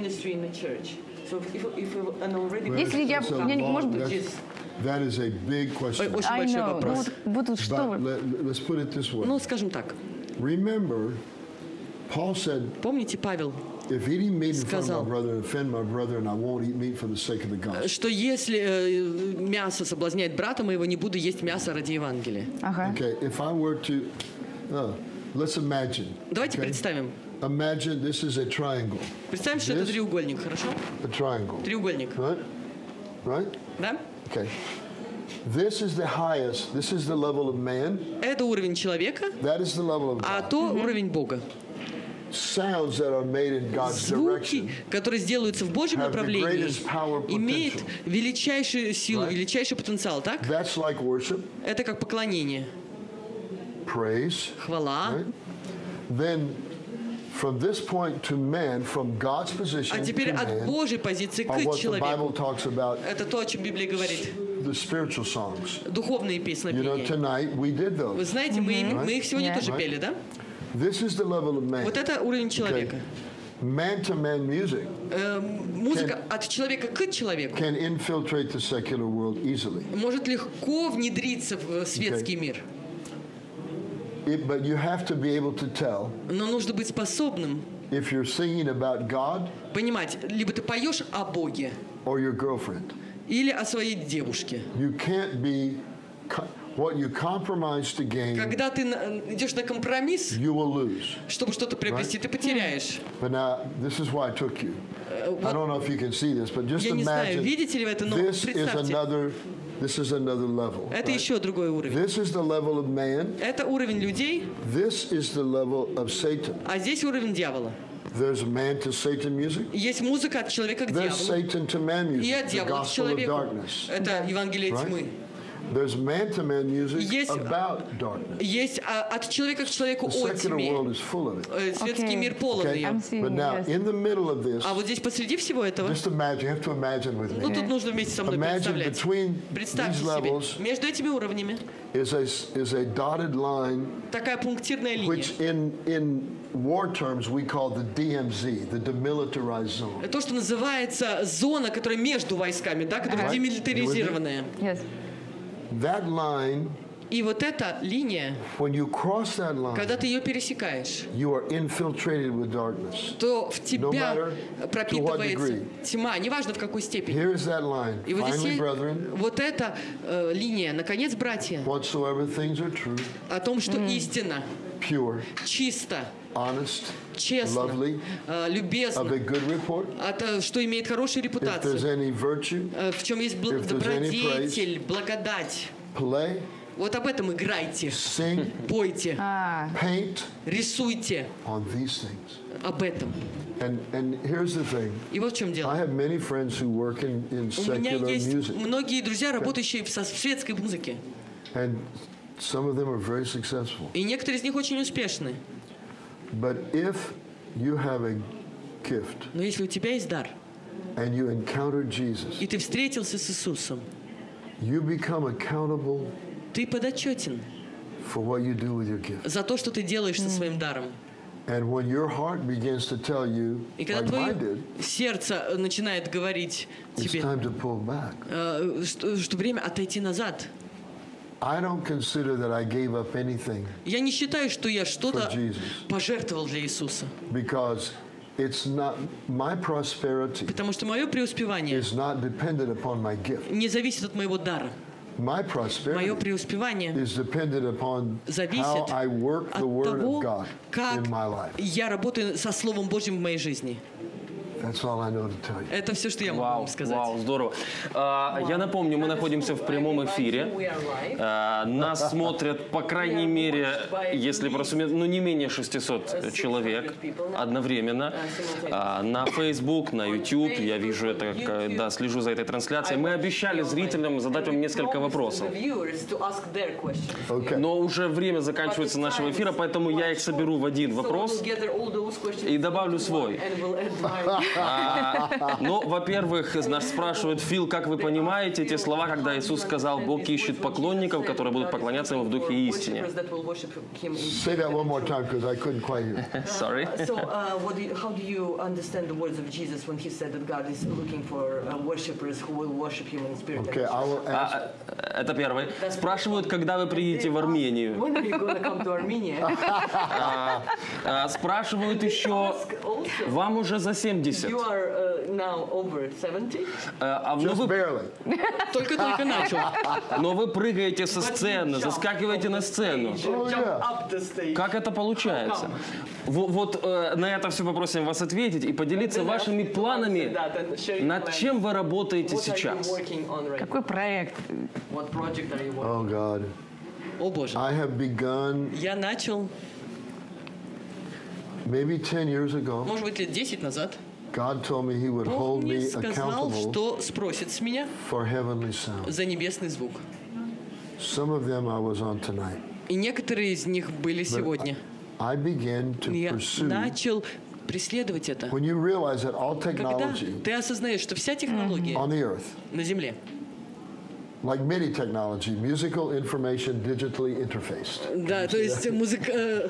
[SPEAKER 1] Если я,
[SPEAKER 4] That's a
[SPEAKER 1] я не-
[SPEAKER 4] long-
[SPEAKER 1] может быть,
[SPEAKER 4] that's- that is a big question.
[SPEAKER 3] Очень
[SPEAKER 1] I
[SPEAKER 3] большой
[SPEAKER 1] know. Ну,
[SPEAKER 3] вопрос.
[SPEAKER 1] вот, вот, вот что
[SPEAKER 4] But
[SPEAKER 1] вы...
[SPEAKER 4] let, let's put it this way.
[SPEAKER 3] Ну, скажем так.
[SPEAKER 4] Remember, Paul said,
[SPEAKER 3] Помните, Павел,
[SPEAKER 4] if eating meat in front of my
[SPEAKER 3] сказал,
[SPEAKER 4] brother offend my brother, and I won't eat meat for the sake of the gospel.
[SPEAKER 3] что если э, мясо соблазняет брата моего, не буду есть мясо ради Евангелия.
[SPEAKER 1] Ага.
[SPEAKER 4] Okay, if I were to, uh, let's imagine.
[SPEAKER 3] Давайте
[SPEAKER 4] okay?
[SPEAKER 3] представим.
[SPEAKER 4] Imagine this is a triangle.
[SPEAKER 3] Представим, что это
[SPEAKER 4] This-
[SPEAKER 3] треугольник, хорошо?
[SPEAKER 4] A triangle.
[SPEAKER 3] Треугольник,
[SPEAKER 4] Right? Right?
[SPEAKER 3] да?
[SPEAKER 4] Okay. This is the highest. This is the level of man.
[SPEAKER 3] Это уровень человека,
[SPEAKER 4] That is the level of
[SPEAKER 3] а
[SPEAKER 4] God.
[SPEAKER 3] то уровень Бога.
[SPEAKER 4] Sounds that are made in God's
[SPEAKER 3] Звуки,
[SPEAKER 4] direction
[SPEAKER 3] которые сделаются в Божьем
[SPEAKER 4] have the
[SPEAKER 3] направлении,
[SPEAKER 4] greatest power
[SPEAKER 3] имеют
[SPEAKER 4] potential.
[SPEAKER 3] величайшую силу,
[SPEAKER 4] Right.
[SPEAKER 3] величайший потенциал, так?
[SPEAKER 4] That's like worship,
[SPEAKER 3] Это как поклонение,
[SPEAKER 4] praise.
[SPEAKER 3] хвала.
[SPEAKER 4] Right? Then, from this point to man, from God's position
[SPEAKER 3] А теперь
[SPEAKER 4] to
[SPEAKER 3] от
[SPEAKER 4] man,
[SPEAKER 3] Божьей позиции
[SPEAKER 4] are
[SPEAKER 3] к
[SPEAKER 4] what the
[SPEAKER 3] человеку.
[SPEAKER 4] Bible talks about,
[SPEAKER 3] Это то, о чем Библия говорит.
[SPEAKER 4] the spiritual songs.
[SPEAKER 3] Духовные
[SPEAKER 4] You know,
[SPEAKER 3] песнопения.
[SPEAKER 4] tonight we did
[SPEAKER 3] Вы
[SPEAKER 4] those.
[SPEAKER 3] знаете, мы, им- мы их сегодня
[SPEAKER 1] Yeah.
[SPEAKER 3] тоже пели, да?
[SPEAKER 4] This is the level of man.
[SPEAKER 3] Вот это уровень человека.
[SPEAKER 4] Man-to-man music
[SPEAKER 3] Э, Музыка от человека к человеку
[SPEAKER 4] can infiltrate the secular world easily.
[SPEAKER 3] может легко внедриться в светский мир.
[SPEAKER 4] It, but you have to be able to tell
[SPEAKER 3] Но нужно быть способным
[SPEAKER 4] if you're singing about God
[SPEAKER 3] понимать, либо ты поешь о Боге,
[SPEAKER 4] or your girlfriend.
[SPEAKER 3] или о своей девушке.
[SPEAKER 4] You can't be what you compromise to gain.
[SPEAKER 3] Когда ты идешь на компромисс,
[SPEAKER 4] you will lose.
[SPEAKER 3] Чтобы что-то приобрести, right? Ты потеряешь.
[SPEAKER 4] But now, this is why I took you. I don't know if you can see this, but just
[SPEAKER 3] Я не знаю,
[SPEAKER 4] imagine.
[SPEAKER 3] видите ли вы это, но
[SPEAKER 4] This is
[SPEAKER 3] представьте.
[SPEAKER 4] another. This is another level.
[SPEAKER 3] Это
[SPEAKER 4] right?
[SPEAKER 3] еще другой уровень.
[SPEAKER 4] This is the level of man.
[SPEAKER 3] Это уровень людей.
[SPEAKER 4] This is the level of Satan.
[SPEAKER 3] А здесь уровень дьявола.
[SPEAKER 4] There's man to Satan music.
[SPEAKER 3] Есть музыка от человека к
[SPEAKER 4] There's
[SPEAKER 3] дьяволу.
[SPEAKER 4] Satan to man music.
[SPEAKER 3] И от дьявола к человеку. Это Евангелие тьмы.
[SPEAKER 4] There's man to man music
[SPEAKER 3] есть,
[SPEAKER 4] about darkness.
[SPEAKER 3] Есть а, от человека к человеку
[SPEAKER 4] The
[SPEAKER 3] о тьме.
[SPEAKER 4] world is full of it.
[SPEAKER 3] Светский okay. мир полон
[SPEAKER 4] okay.
[SPEAKER 3] ее.
[SPEAKER 4] But now, in the middle of this,
[SPEAKER 3] а вот здесь посреди всего этого,
[SPEAKER 4] just imagine, you have to imagine with me.
[SPEAKER 3] Ну тут нужно вместе со мной
[SPEAKER 4] imagine
[SPEAKER 3] представлять.
[SPEAKER 4] Between
[SPEAKER 3] Представьте
[SPEAKER 4] these
[SPEAKER 3] себе,
[SPEAKER 4] levels
[SPEAKER 3] между этими уровнями
[SPEAKER 4] is a, is a dotted line,
[SPEAKER 3] такая пунктирная линия.
[SPEAKER 4] Which in, in war terms we call the D M Z, the demilitarized zone.
[SPEAKER 3] То, что называется зона, которая между войсками, да, которая right. демилитаризированная.
[SPEAKER 1] Yes.
[SPEAKER 4] That line,
[SPEAKER 3] и вот эта линия,
[SPEAKER 4] when you cross that line,
[SPEAKER 3] когда ты ее пересекаешь,
[SPEAKER 4] you are infiltrated with darkness,
[SPEAKER 3] то в тебя
[SPEAKER 4] no
[SPEAKER 3] пропитывается тьма, неважно в какой степени.
[SPEAKER 4] Here is that line.
[SPEAKER 3] И вот
[SPEAKER 4] Finally,
[SPEAKER 3] здесь
[SPEAKER 4] brethren,
[SPEAKER 3] вот эта э, линия, наконец, братья,
[SPEAKER 4] whatsoever things are true,
[SPEAKER 3] о том, что mm. истина,
[SPEAKER 4] pure,
[SPEAKER 3] чисто,
[SPEAKER 4] honest,
[SPEAKER 3] честно,
[SPEAKER 4] lovely,
[SPEAKER 3] э, любезно,
[SPEAKER 4] of a good report,
[SPEAKER 3] от, что имеет хорошую репутацию,
[SPEAKER 4] if there's any virtue,
[SPEAKER 3] э, в чем есть бл- добродетель, благодать.
[SPEAKER 4] Play,
[SPEAKER 3] вот об этом играйте,
[SPEAKER 4] sing,
[SPEAKER 3] пойте,
[SPEAKER 4] paint,
[SPEAKER 3] рисуйте
[SPEAKER 4] on these things.
[SPEAKER 3] об этом.
[SPEAKER 4] And, and here's the thing.
[SPEAKER 3] И вот в чем дело.
[SPEAKER 4] I have many friends who work in, in
[SPEAKER 3] У меня
[SPEAKER 4] secular
[SPEAKER 3] есть
[SPEAKER 4] music.
[SPEAKER 3] многие друзья, работающие в светской музыке.
[SPEAKER 4] And some of them are very successful.
[SPEAKER 3] И некоторые из них очень успешны.
[SPEAKER 4] But if you have a gift,
[SPEAKER 3] но если у тебя есть дар,
[SPEAKER 4] and you encountered Jesus,
[SPEAKER 3] и ты встретился с Иисусом,
[SPEAKER 4] you become accountable
[SPEAKER 3] ты подотчетен
[SPEAKER 4] for what you do with your gift.
[SPEAKER 3] За то, что ты делаешь со своим даром.
[SPEAKER 4] And when your heart begins to tell you,
[SPEAKER 3] и когда
[SPEAKER 4] like
[SPEAKER 3] твое
[SPEAKER 4] did,
[SPEAKER 3] сердце начинает говорить тебе,
[SPEAKER 4] it's time to pull back.
[SPEAKER 3] Uh, что, что время отойти назад.
[SPEAKER 4] I don't consider that I gave up anything.
[SPEAKER 3] Я не считаю, что я что-то пожертвовал для Иисуса.
[SPEAKER 4] Because it's not my prosperity.
[SPEAKER 3] Потому что мое преуспевание
[SPEAKER 4] is not dependent upon my gift.
[SPEAKER 3] Не зависит от моего дара.
[SPEAKER 4] My prosperity
[SPEAKER 3] Мое преуспевание
[SPEAKER 4] is dependent upon
[SPEAKER 3] зависит
[SPEAKER 4] how I work the word
[SPEAKER 3] того,
[SPEAKER 4] of God
[SPEAKER 3] как
[SPEAKER 4] in my life.
[SPEAKER 3] Я работаю со Словом Божьим в моей жизни.
[SPEAKER 4] That's all I know to tell you.
[SPEAKER 3] Это все, что я могу
[SPEAKER 2] вау,
[SPEAKER 3] вам сказать.
[SPEAKER 2] Вау, здорово. А, я напомню, мы находимся в прямом эфире. А, нас смотрят, по крайней мере, если просуммировать, ну не менее шестисот человек одновременно. А, на Facebook, на YouTube, я вижу это, да, слежу за этой трансляцией. Мы обещали зрителям задать вам несколько вопросов.
[SPEAKER 4] Okay.
[SPEAKER 2] Но уже время заканчивается нашего эфира, поэтому я их соберу в один вопрос и добавлю свой. А, ну, во-первых, нас спрашивают, Фил, как вы понимаете эти слова, когда Иисус сказал, Бог ищет поклонников, которые будут поклоняться Ему в духе и истине?
[SPEAKER 4] Say that one more time, because I couldn't quite hear.
[SPEAKER 2] Sorry.
[SPEAKER 3] So, uh, what do you, how do you understand the words of Jesus when He said that God is looking for uh, worshippers who will worship Him in spirit
[SPEAKER 4] Okay, I will ask.
[SPEAKER 2] А, это первый. Спрашивают, когда вы приедете в Армению.
[SPEAKER 3] When are you going to come to Armenia?
[SPEAKER 2] А, а, спрашивают еще, вам уже за семьдесят.
[SPEAKER 3] You are uh, now over seventy.
[SPEAKER 2] А, но
[SPEAKER 4] Just
[SPEAKER 2] вы,
[SPEAKER 4] barely.
[SPEAKER 3] Только-только начал.
[SPEAKER 2] но вы прыгаете со сцены, заскакиваете на сцену.
[SPEAKER 4] Oh, yeah.
[SPEAKER 2] Как это получается? Вот, вот э, на это все попросим вас ответить и поделиться вашими планами, над чем вы работаете сейчас.
[SPEAKER 1] Какой проект?
[SPEAKER 4] Oh, God.
[SPEAKER 3] О Боже.
[SPEAKER 4] I have begun
[SPEAKER 3] Я начал,
[SPEAKER 4] maybe ten years ago.
[SPEAKER 3] может быть, лет десять назад.
[SPEAKER 4] God told me He would
[SPEAKER 3] Бог
[SPEAKER 4] hold
[SPEAKER 3] мне
[SPEAKER 4] me
[SPEAKER 3] сказал,
[SPEAKER 4] accountable
[SPEAKER 3] что спросит с меня
[SPEAKER 4] for heavenly sound.
[SPEAKER 3] за небесный звук.
[SPEAKER 4] Some of them I was on tonight.
[SPEAKER 3] И некоторые из них были сегодня.
[SPEAKER 4] I began to
[SPEAKER 3] Я
[SPEAKER 4] pursue.
[SPEAKER 3] начал преследовать это.
[SPEAKER 4] When you realize that all
[SPEAKER 3] Когда
[SPEAKER 4] technology
[SPEAKER 3] ты осознаешь, что вся технология
[SPEAKER 4] on the earth,
[SPEAKER 3] на Земле,
[SPEAKER 4] like MIDI technology, musical information digitally interfaced,
[SPEAKER 3] да, то есть музык... э,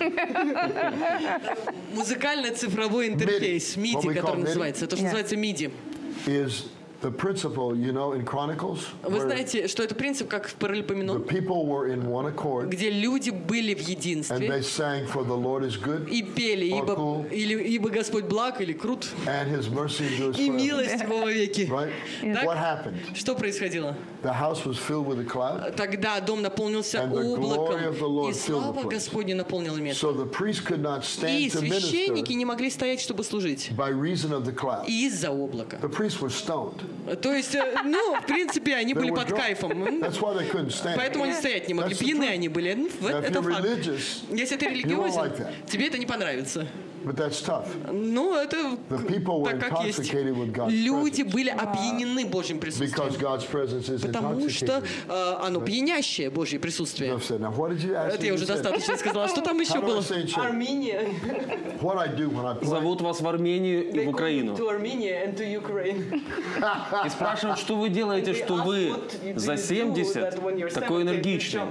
[SPEAKER 3] музыкально-цифровой интерфейс,
[SPEAKER 4] MIDI, what
[SPEAKER 3] миди,
[SPEAKER 4] we call
[SPEAKER 3] который
[SPEAKER 4] MIDI.
[SPEAKER 3] называется, то, что
[SPEAKER 1] Yeah.
[SPEAKER 3] называется миди,
[SPEAKER 4] is The principle, you know, in Chronicles,
[SPEAKER 3] Вы знаете, что это принцип, как в
[SPEAKER 4] the
[SPEAKER 3] Паралипоменон,
[SPEAKER 4] people were in one accord,
[SPEAKER 3] где люди были в
[SPEAKER 4] and
[SPEAKER 3] единстве
[SPEAKER 4] they sang, "For the Lord is good,
[SPEAKER 3] и пели,
[SPEAKER 4] or
[SPEAKER 3] ибо,
[SPEAKER 4] cool,
[SPEAKER 3] или, ибо Господь благ или крут,
[SPEAKER 4] and His mercy endures
[SPEAKER 3] и
[SPEAKER 4] forever."
[SPEAKER 3] милость его веки.
[SPEAKER 4] Right?
[SPEAKER 3] Так?
[SPEAKER 4] What happened?
[SPEAKER 3] Что происходило?
[SPEAKER 4] The house was filled with a cloud,
[SPEAKER 3] Тогда дом наполнился
[SPEAKER 4] And the glory of the
[SPEAKER 3] облаком,
[SPEAKER 4] Lord
[SPEAKER 3] и
[SPEAKER 4] filled the
[SPEAKER 3] слава
[SPEAKER 4] place.
[SPEAKER 3] Господня наполнила место.
[SPEAKER 4] so the priest could not
[SPEAKER 3] И
[SPEAKER 4] stand to
[SPEAKER 3] священники
[SPEAKER 4] minister
[SPEAKER 3] не могли стоять, чтобы служить,
[SPEAKER 4] by reason of the cloud.
[SPEAKER 3] из-за облака.
[SPEAKER 4] The priests were stoned.
[SPEAKER 3] То есть, э, ну, в принципе, они
[SPEAKER 4] They
[SPEAKER 3] были
[SPEAKER 4] were
[SPEAKER 3] под
[SPEAKER 4] drunk.
[SPEAKER 3] кайфом. М,
[SPEAKER 4] That's why they couldn't stand.
[SPEAKER 3] Поэтому они стоять не могли.
[SPEAKER 4] That's the
[SPEAKER 3] Пьяны
[SPEAKER 4] truth.
[SPEAKER 3] они были. Ну, в-
[SPEAKER 4] Now, if
[SPEAKER 3] Это
[SPEAKER 4] you're
[SPEAKER 3] факт.
[SPEAKER 4] religious,
[SPEAKER 3] Если ты
[SPEAKER 4] you won't
[SPEAKER 3] религиозен,
[SPEAKER 4] like that.
[SPEAKER 3] тебе это не понравится.
[SPEAKER 4] But that's tough.
[SPEAKER 3] Ну, это
[SPEAKER 4] The people were
[SPEAKER 3] так как есть.
[SPEAKER 4] intoxicated with God's
[SPEAKER 3] Люди
[SPEAKER 4] presence
[SPEAKER 3] были опьянены Божьим
[SPEAKER 4] because
[SPEAKER 3] присутствием.
[SPEAKER 4] God's presence is
[SPEAKER 3] Потому что
[SPEAKER 4] intoxicating.
[SPEAKER 3] э, оно пьянящее, Божье присутствие.
[SPEAKER 4] Enough said. Now, what did you ask
[SPEAKER 3] Это
[SPEAKER 4] me
[SPEAKER 3] я
[SPEAKER 4] to
[SPEAKER 3] уже
[SPEAKER 4] say?
[SPEAKER 3] достаточно сказала. Что там еще
[SPEAKER 4] How do I
[SPEAKER 3] было?
[SPEAKER 4] say in Czech?
[SPEAKER 5] Armenia.
[SPEAKER 4] What I do when I play?
[SPEAKER 2] Зовут вас в Армению и
[SPEAKER 5] They
[SPEAKER 2] в
[SPEAKER 5] go
[SPEAKER 2] Украину.
[SPEAKER 5] to Armenia and to Ukraine.
[SPEAKER 2] И спрашивают, что вы делаете, что вы за семьдесят такой энергичный.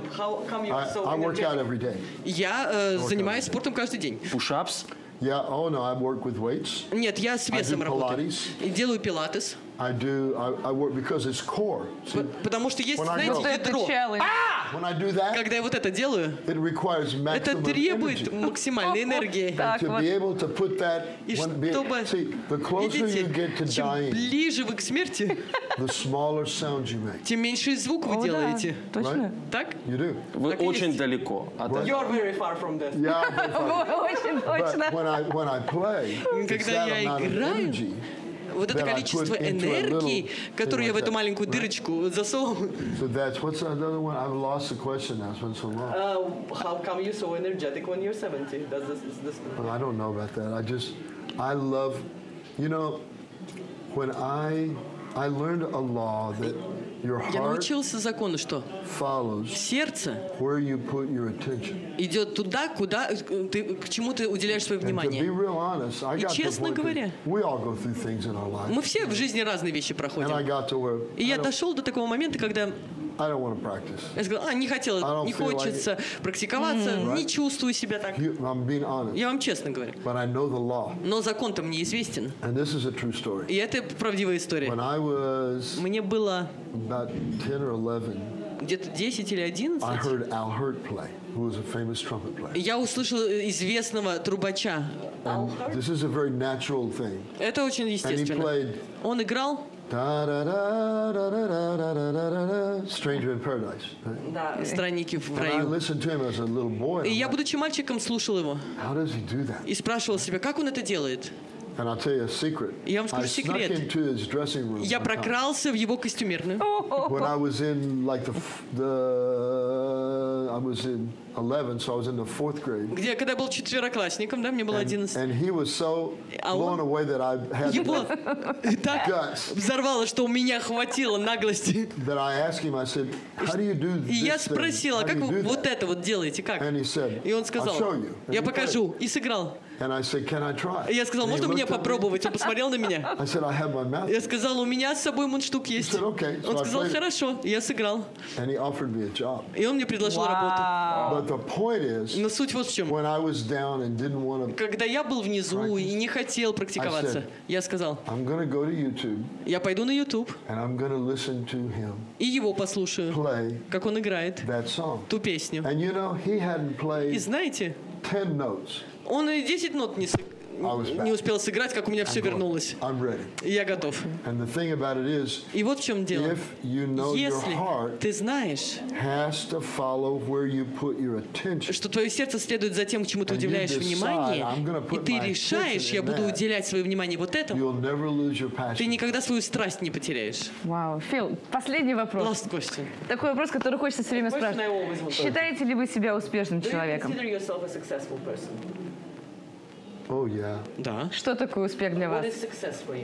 [SPEAKER 4] I, I work out every day.
[SPEAKER 3] Я э, занимаюсь спортом каждый день.
[SPEAKER 2] Пушапс.
[SPEAKER 4] Yeah. Oh no, I work with weights.
[SPEAKER 3] Нет, я с
[SPEAKER 4] I do
[SPEAKER 3] весом работаю.
[SPEAKER 4] Pilates.
[SPEAKER 3] И делаю пилатес.
[SPEAKER 4] I do. I, I work because it's core. See,
[SPEAKER 3] П- Потому что есть,
[SPEAKER 4] When I
[SPEAKER 3] знаете,
[SPEAKER 4] go-
[SPEAKER 1] Это
[SPEAKER 3] ядро.
[SPEAKER 1] челлендж.
[SPEAKER 4] when I do that,
[SPEAKER 3] Когда я вот это делаю,
[SPEAKER 4] it requires
[SPEAKER 3] это
[SPEAKER 4] maximum
[SPEAKER 3] требует
[SPEAKER 4] energy.
[SPEAKER 3] максимальной энергии.
[SPEAKER 1] Так
[SPEAKER 4] To
[SPEAKER 1] вот.
[SPEAKER 4] be able to put that,
[SPEAKER 3] И
[SPEAKER 4] when, be,
[SPEAKER 3] чтобы,
[SPEAKER 4] see, the closer you get to
[SPEAKER 3] видите, чем
[SPEAKER 4] dying,
[SPEAKER 3] ближе вы к смерти,
[SPEAKER 4] the smaller sounds you make.
[SPEAKER 3] тем меньше звук вы
[SPEAKER 1] О, да,
[SPEAKER 3] делаете.
[SPEAKER 1] точно.
[SPEAKER 3] Так?
[SPEAKER 4] You do.
[SPEAKER 2] Вы
[SPEAKER 3] Так и
[SPEAKER 2] очень
[SPEAKER 3] есть.
[SPEAKER 2] далеко от этого.
[SPEAKER 5] You're very far from that.
[SPEAKER 4] Yeah, but,
[SPEAKER 1] Очень
[SPEAKER 4] but
[SPEAKER 1] точно.
[SPEAKER 4] when I when I play, it's
[SPEAKER 3] Когда
[SPEAKER 4] that
[SPEAKER 3] я
[SPEAKER 4] amount of
[SPEAKER 3] играю,
[SPEAKER 4] energy.
[SPEAKER 3] Вот это
[SPEAKER 4] that I
[SPEAKER 3] количество
[SPEAKER 4] put into a
[SPEAKER 3] энергии,
[SPEAKER 4] little
[SPEAKER 3] которую я в
[SPEAKER 4] thing like
[SPEAKER 3] эту
[SPEAKER 4] that,
[SPEAKER 3] маленькую
[SPEAKER 4] right?
[SPEAKER 3] дырочку засовываю.
[SPEAKER 4] So that's what's another one. I've lost the question now. It's been so long.
[SPEAKER 5] Uh, how come you're so energetic when you're seventy? That's this, this,
[SPEAKER 4] Well, I don't know about that. I just, I love, you know, when I, I learned a law that your
[SPEAKER 3] Я
[SPEAKER 4] heart
[SPEAKER 3] научился закону, что
[SPEAKER 4] follows
[SPEAKER 3] сердце
[SPEAKER 4] where you put your attention.
[SPEAKER 3] идет туда, куда ты, к чему ты уделяешь свое
[SPEAKER 4] And to be
[SPEAKER 3] внимание.
[SPEAKER 4] real honest, I
[SPEAKER 3] И
[SPEAKER 4] got to the
[SPEAKER 3] честно
[SPEAKER 4] point that
[SPEAKER 3] говоря,
[SPEAKER 4] we all go through things in our
[SPEAKER 3] Мы
[SPEAKER 4] life.
[SPEAKER 3] все в жизни разные вещи
[SPEAKER 4] And I
[SPEAKER 3] проходим.
[SPEAKER 4] got to where
[SPEAKER 3] И
[SPEAKER 4] I
[SPEAKER 3] я
[SPEAKER 4] don't,
[SPEAKER 3] дошел до такого момента, когда
[SPEAKER 4] I don't want to practice.
[SPEAKER 3] я сказал, а, не
[SPEAKER 4] I
[SPEAKER 3] хотела,
[SPEAKER 4] don't
[SPEAKER 3] не
[SPEAKER 4] feel like
[SPEAKER 3] хочется практиковаться, не чувствую себя так.
[SPEAKER 4] You, I'm being honest,
[SPEAKER 3] Я вам честно говорю.
[SPEAKER 4] but I know the law.
[SPEAKER 3] Но закон-то мне известен.
[SPEAKER 4] And this is a true story.
[SPEAKER 3] И это правдивая история.
[SPEAKER 4] When I was
[SPEAKER 3] Мне было
[SPEAKER 4] about ten or eleven,
[SPEAKER 3] где-то десять или
[SPEAKER 4] I
[SPEAKER 3] одиннадцать.
[SPEAKER 4] heard Al Hurt play, who was a famous trumpet player.
[SPEAKER 3] Я услышал известного трубача.
[SPEAKER 4] And this is a very natural thing.
[SPEAKER 3] Это очень
[SPEAKER 4] And he
[SPEAKER 3] естественно.
[SPEAKER 4] played
[SPEAKER 3] Он играл
[SPEAKER 4] da da da da da da da da da da da Stranger in Paradise. right?
[SPEAKER 5] да.
[SPEAKER 3] «Странники в
[SPEAKER 4] And I
[SPEAKER 3] раю».
[SPEAKER 4] listened to him as a little boy.
[SPEAKER 3] И
[SPEAKER 4] and
[SPEAKER 3] я,
[SPEAKER 4] I'm like,
[SPEAKER 3] будучи мальчиком, слушал его
[SPEAKER 4] how does he do that?
[SPEAKER 3] и спрашивал себя, как он это делает.
[SPEAKER 4] And I'll tell you a secret.
[SPEAKER 3] Я вам
[SPEAKER 4] I
[SPEAKER 3] скажу
[SPEAKER 4] snuck
[SPEAKER 3] секрет.
[SPEAKER 4] into his dressing room.
[SPEAKER 3] Я
[SPEAKER 4] one time.
[SPEAKER 3] прокрался в его костюмерную.
[SPEAKER 4] When I was in like the f- the I was in eleven, so I was in the fourth grade.
[SPEAKER 3] Где, когда я был четвероклассником, да, мне было
[SPEAKER 4] And,
[SPEAKER 3] одиннадцать.
[SPEAKER 4] and he was so
[SPEAKER 3] А
[SPEAKER 4] blown
[SPEAKER 3] он-
[SPEAKER 4] away that I had
[SPEAKER 3] Его
[SPEAKER 4] enough
[SPEAKER 3] так
[SPEAKER 4] guts
[SPEAKER 3] взорвало, что у меня хватило наглости.
[SPEAKER 4] that I asked him. I said, "How do you do
[SPEAKER 3] И я
[SPEAKER 4] this thing?
[SPEAKER 3] спросила,
[SPEAKER 4] How
[SPEAKER 3] как
[SPEAKER 4] do you
[SPEAKER 3] вы
[SPEAKER 4] do
[SPEAKER 3] вот
[SPEAKER 4] that?"
[SPEAKER 3] это вот делаете, как?
[SPEAKER 4] And he said,
[SPEAKER 3] И он
[SPEAKER 4] "I'll
[SPEAKER 3] сказал,
[SPEAKER 4] show you." And
[SPEAKER 3] я
[SPEAKER 4] he
[SPEAKER 3] покажу. И сыграл.
[SPEAKER 4] played. And I said, "Can I try?"
[SPEAKER 3] И я сказал,
[SPEAKER 4] And he
[SPEAKER 3] можно мне
[SPEAKER 4] looked at me.
[SPEAKER 3] попробовать? Он посмотрел на меня.
[SPEAKER 4] I said, "I have my mouth."
[SPEAKER 3] Я сказал, у меня с собой мундштук есть.
[SPEAKER 4] said, "Okay." So
[SPEAKER 3] Он
[SPEAKER 4] I
[SPEAKER 3] сказал,
[SPEAKER 4] played it.
[SPEAKER 3] хорошо. И я сыграл.
[SPEAKER 4] And he offered me a job.
[SPEAKER 3] И он мне предложил работу.
[SPEAKER 4] But the point is,
[SPEAKER 3] Но суть вот в чем.
[SPEAKER 4] when I was down and didn't want to,
[SPEAKER 3] Когда я был внизу и не хотел практиковаться, я сказал,
[SPEAKER 4] I'm going to go to YouTube
[SPEAKER 3] я пойду на YouTube
[SPEAKER 4] and I'm going to listen to him
[SPEAKER 3] и его послушаю,
[SPEAKER 4] play
[SPEAKER 3] как он играет
[SPEAKER 4] that song.
[SPEAKER 3] ту песню.
[SPEAKER 4] And you know, he hadn't
[SPEAKER 3] И
[SPEAKER 4] played
[SPEAKER 3] знаете,
[SPEAKER 4] ten notes.
[SPEAKER 3] он и десять нот не, сы- не успел сыграть, как у меня все вернулось.
[SPEAKER 4] I'm ready.
[SPEAKER 3] И я готов.
[SPEAKER 4] And the thing about it is,
[SPEAKER 3] И вот в чем дело.
[SPEAKER 4] if you know your
[SPEAKER 3] Если
[SPEAKER 4] heart
[SPEAKER 3] ты знаешь,
[SPEAKER 4] has to follow where you put your attention,
[SPEAKER 3] что твое сердце следует за тем, к чему ты
[SPEAKER 4] And you
[SPEAKER 3] уделяешь
[SPEAKER 4] decide,
[SPEAKER 3] внимание,
[SPEAKER 4] I'm gonna
[SPEAKER 3] и
[SPEAKER 4] put
[SPEAKER 3] ты
[SPEAKER 4] my
[SPEAKER 3] решаешь,
[SPEAKER 4] attention
[SPEAKER 3] я
[SPEAKER 4] in
[SPEAKER 3] буду
[SPEAKER 4] that,
[SPEAKER 3] уделять свое внимание вот этому,
[SPEAKER 4] you'll never lose your
[SPEAKER 3] ты
[SPEAKER 4] passion.
[SPEAKER 3] никогда свою страсть не потеряешь.
[SPEAKER 1] Вау. Фил, последний вопрос.
[SPEAKER 3] Last question.
[SPEAKER 1] Такой вопрос, который хочется все время
[SPEAKER 5] Question I
[SPEAKER 1] спрашивать.
[SPEAKER 5] always want.
[SPEAKER 1] Считаете ли вы себя успешным
[SPEAKER 5] Do you
[SPEAKER 1] человеком?
[SPEAKER 5] consider yourself a successful person?
[SPEAKER 4] Oh yeah,
[SPEAKER 3] Да.
[SPEAKER 1] Что такое успех для
[SPEAKER 5] What
[SPEAKER 1] вас?
[SPEAKER 5] is success for you?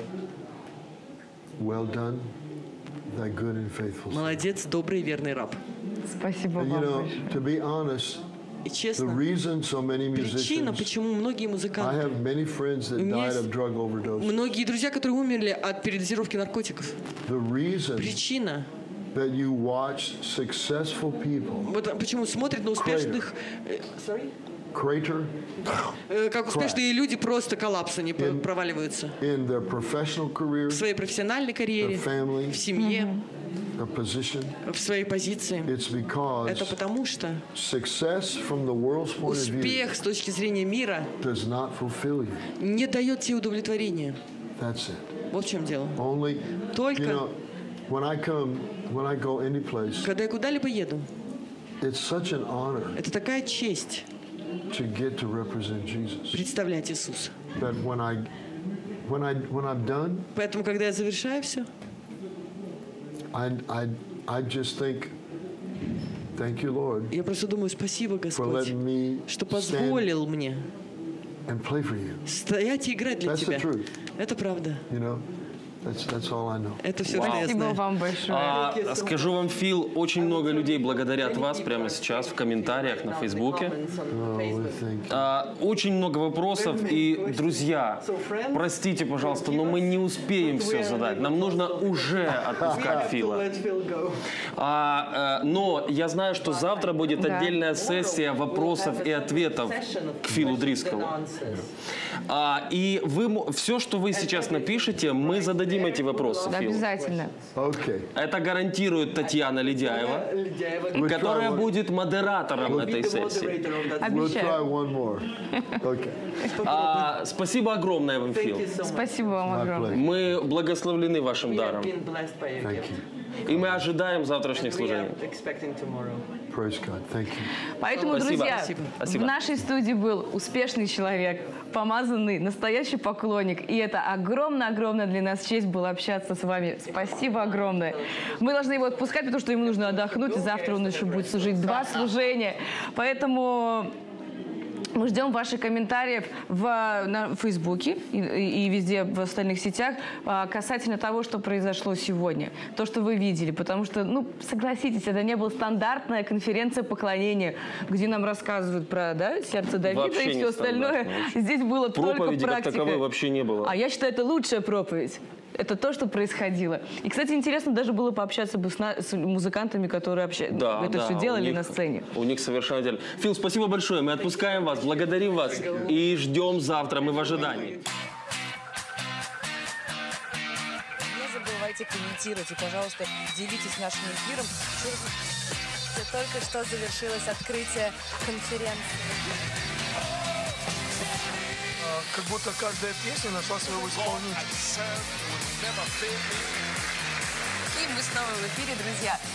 [SPEAKER 4] well done, thy good and faithful servant.
[SPEAKER 3] Молодец, добрый и верный раб.
[SPEAKER 1] Спасибо
[SPEAKER 4] And you
[SPEAKER 1] вам
[SPEAKER 4] know,
[SPEAKER 1] большое.
[SPEAKER 4] to be honest,
[SPEAKER 3] И
[SPEAKER 4] the
[SPEAKER 3] честно,
[SPEAKER 4] reason so many
[SPEAKER 3] причина,
[SPEAKER 4] musicians,
[SPEAKER 3] почему многие
[SPEAKER 4] I
[SPEAKER 3] музыканты,
[SPEAKER 4] have many friends that
[SPEAKER 3] У меня
[SPEAKER 4] died
[SPEAKER 3] есть
[SPEAKER 4] of drug overdose.
[SPEAKER 3] многие друзья, которые умерли от передозировки наркотиков.
[SPEAKER 4] The reason
[SPEAKER 3] Причина,
[SPEAKER 4] that you watch successful people
[SPEAKER 3] вот почему смотрят на успешных, э, sorry?
[SPEAKER 4] crater.
[SPEAKER 3] Как успешные люди просто коллапс, они
[SPEAKER 4] In-
[SPEAKER 3] проваливаются
[SPEAKER 4] In their professional career,
[SPEAKER 3] в своей профессиональной карьере,
[SPEAKER 4] their family,
[SPEAKER 3] в семье,
[SPEAKER 4] their position.
[SPEAKER 3] в своей позиции.
[SPEAKER 4] It's because
[SPEAKER 3] Это потому что
[SPEAKER 4] success from the world's point of view
[SPEAKER 3] успех с точки зрения мира
[SPEAKER 4] does not fulfill you.
[SPEAKER 3] не дает тебе удовлетворения.
[SPEAKER 4] That's it.
[SPEAKER 3] Вот в чем дело.
[SPEAKER 4] Only,
[SPEAKER 3] Только-
[SPEAKER 4] you know, when I come, when I go any place,
[SPEAKER 3] Когда я куда-либо еду,
[SPEAKER 4] it's such an honor
[SPEAKER 3] это такая честь
[SPEAKER 4] to get to represent Jesus.
[SPEAKER 3] представлять Иисуса.
[SPEAKER 4] That when I, when I, when I'm done,
[SPEAKER 3] Поэтому, когда я завершаю все,
[SPEAKER 4] I, I, I just think, thank you, Lord,
[SPEAKER 3] я просто думаю, спасибо,
[SPEAKER 4] for
[SPEAKER 3] Господь,
[SPEAKER 4] letting me
[SPEAKER 3] что
[SPEAKER 4] stand
[SPEAKER 3] позволил мне
[SPEAKER 4] and play for you.
[SPEAKER 3] стоять и играть для
[SPEAKER 4] That's the
[SPEAKER 3] Тебя.
[SPEAKER 4] truth.
[SPEAKER 3] Это правда.
[SPEAKER 4] You know, that's that's all I know.
[SPEAKER 3] Это все, что я
[SPEAKER 1] Спасибо
[SPEAKER 3] знаю.
[SPEAKER 1] вам большое.
[SPEAKER 2] А, скажу вам, Фил, очень много людей благодарят вас прямо сейчас в комментариях на Фейсбуке.
[SPEAKER 4] Oh, we thank you.
[SPEAKER 2] А, очень много вопросов. И, друзья, простите, пожалуйста, но мы не успеем все задать. Нам нужно уже отпускать Фила.
[SPEAKER 5] Let Phil go.
[SPEAKER 2] А, э, но я знаю, что завтра будет
[SPEAKER 1] Да.
[SPEAKER 2] отдельная сессия вопросов и ответов к Филу Дрискалу. А, и вы, все, что вы сейчас напишете, мы зададим эти вопросы
[SPEAKER 1] Да,
[SPEAKER 2] Филу.
[SPEAKER 1] обязательно.
[SPEAKER 4] Okay.
[SPEAKER 2] Это гарантирует Татьяна Ледяева,
[SPEAKER 4] We'll
[SPEAKER 2] которая
[SPEAKER 4] try one-
[SPEAKER 2] будет модератором этой сессии.
[SPEAKER 4] We'll try
[SPEAKER 1] Обещаю.
[SPEAKER 4] one more. Okay.
[SPEAKER 2] А, спасибо огромное вам, Фил.
[SPEAKER 1] Спасибо вам
[SPEAKER 4] My
[SPEAKER 1] огромное.
[SPEAKER 4] pleasure.
[SPEAKER 2] Мы благословлены вашим даром.
[SPEAKER 5] Been blessed by your
[SPEAKER 4] Thank
[SPEAKER 5] gift.
[SPEAKER 4] you.
[SPEAKER 2] И мы ожидаем завтрашних
[SPEAKER 5] We
[SPEAKER 2] служений.
[SPEAKER 5] are expecting tomorrow.
[SPEAKER 4] Praise God. Thank you.
[SPEAKER 1] Поэтому,
[SPEAKER 2] Спасибо.
[SPEAKER 1] друзья,
[SPEAKER 2] Спасибо.
[SPEAKER 1] в
[SPEAKER 2] Спасибо.
[SPEAKER 1] нашей студии был успешный человек, помазанный, настоящий поклонник. И это огромная-огромная для нас честь было общаться с вами. Спасибо огромное. Мы должны его отпускать, потому что ему нужно отдохнуть. И завтра он еще будет служить два служения. Поэтому мы ждем ваших комментариев в, на Фейсбуке и, и везде в остальных сетях а, касательно того, что произошло сегодня. То, что вы видели. Потому что, ну, согласитесь, это не была стандартная конференция поклонения, где нам рассказывают про, да, сердце Давида
[SPEAKER 2] Вообще
[SPEAKER 1] и
[SPEAKER 2] не
[SPEAKER 1] все остальное.
[SPEAKER 2] стандартная вообще.
[SPEAKER 1] Здесь было только
[SPEAKER 2] Проповеди как
[SPEAKER 1] практика.
[SPEAKER 2] таковой вообще не было.
[SPEAKER 1] А я считаю, это лучшая проповедь. Это то, что происходило. И, кстати, интересно даже было пообщаться бы с, на- с музыкантами, которые обща-
[SPEAKER 2] Да,
[SPEAKER 1] это
[SPEAKER 2] да,
[SPEAKER 1] все
[SPEAKER 2] у
[SPEAKER 1] делали
[SPEAKER 2] них-
[SPEAKER 1] на сцене.
[SPEAKER 2] У них совершенно отдельно. Фил, спасибо большое. Мы отпускаем вас, благодарим вас и ждем завтра. Мы в ожидании.
[SPEAKER 6] Не забывайте комментировать и, пожалуйста, делитесь нашим эфиром. Еще раз, только что завершилось открытие конференции.
[SPEAKER 7] Как будто каждая песня нашла своего исполнителя.
[SPEAKER 1] И мы снова в эфире, друзья.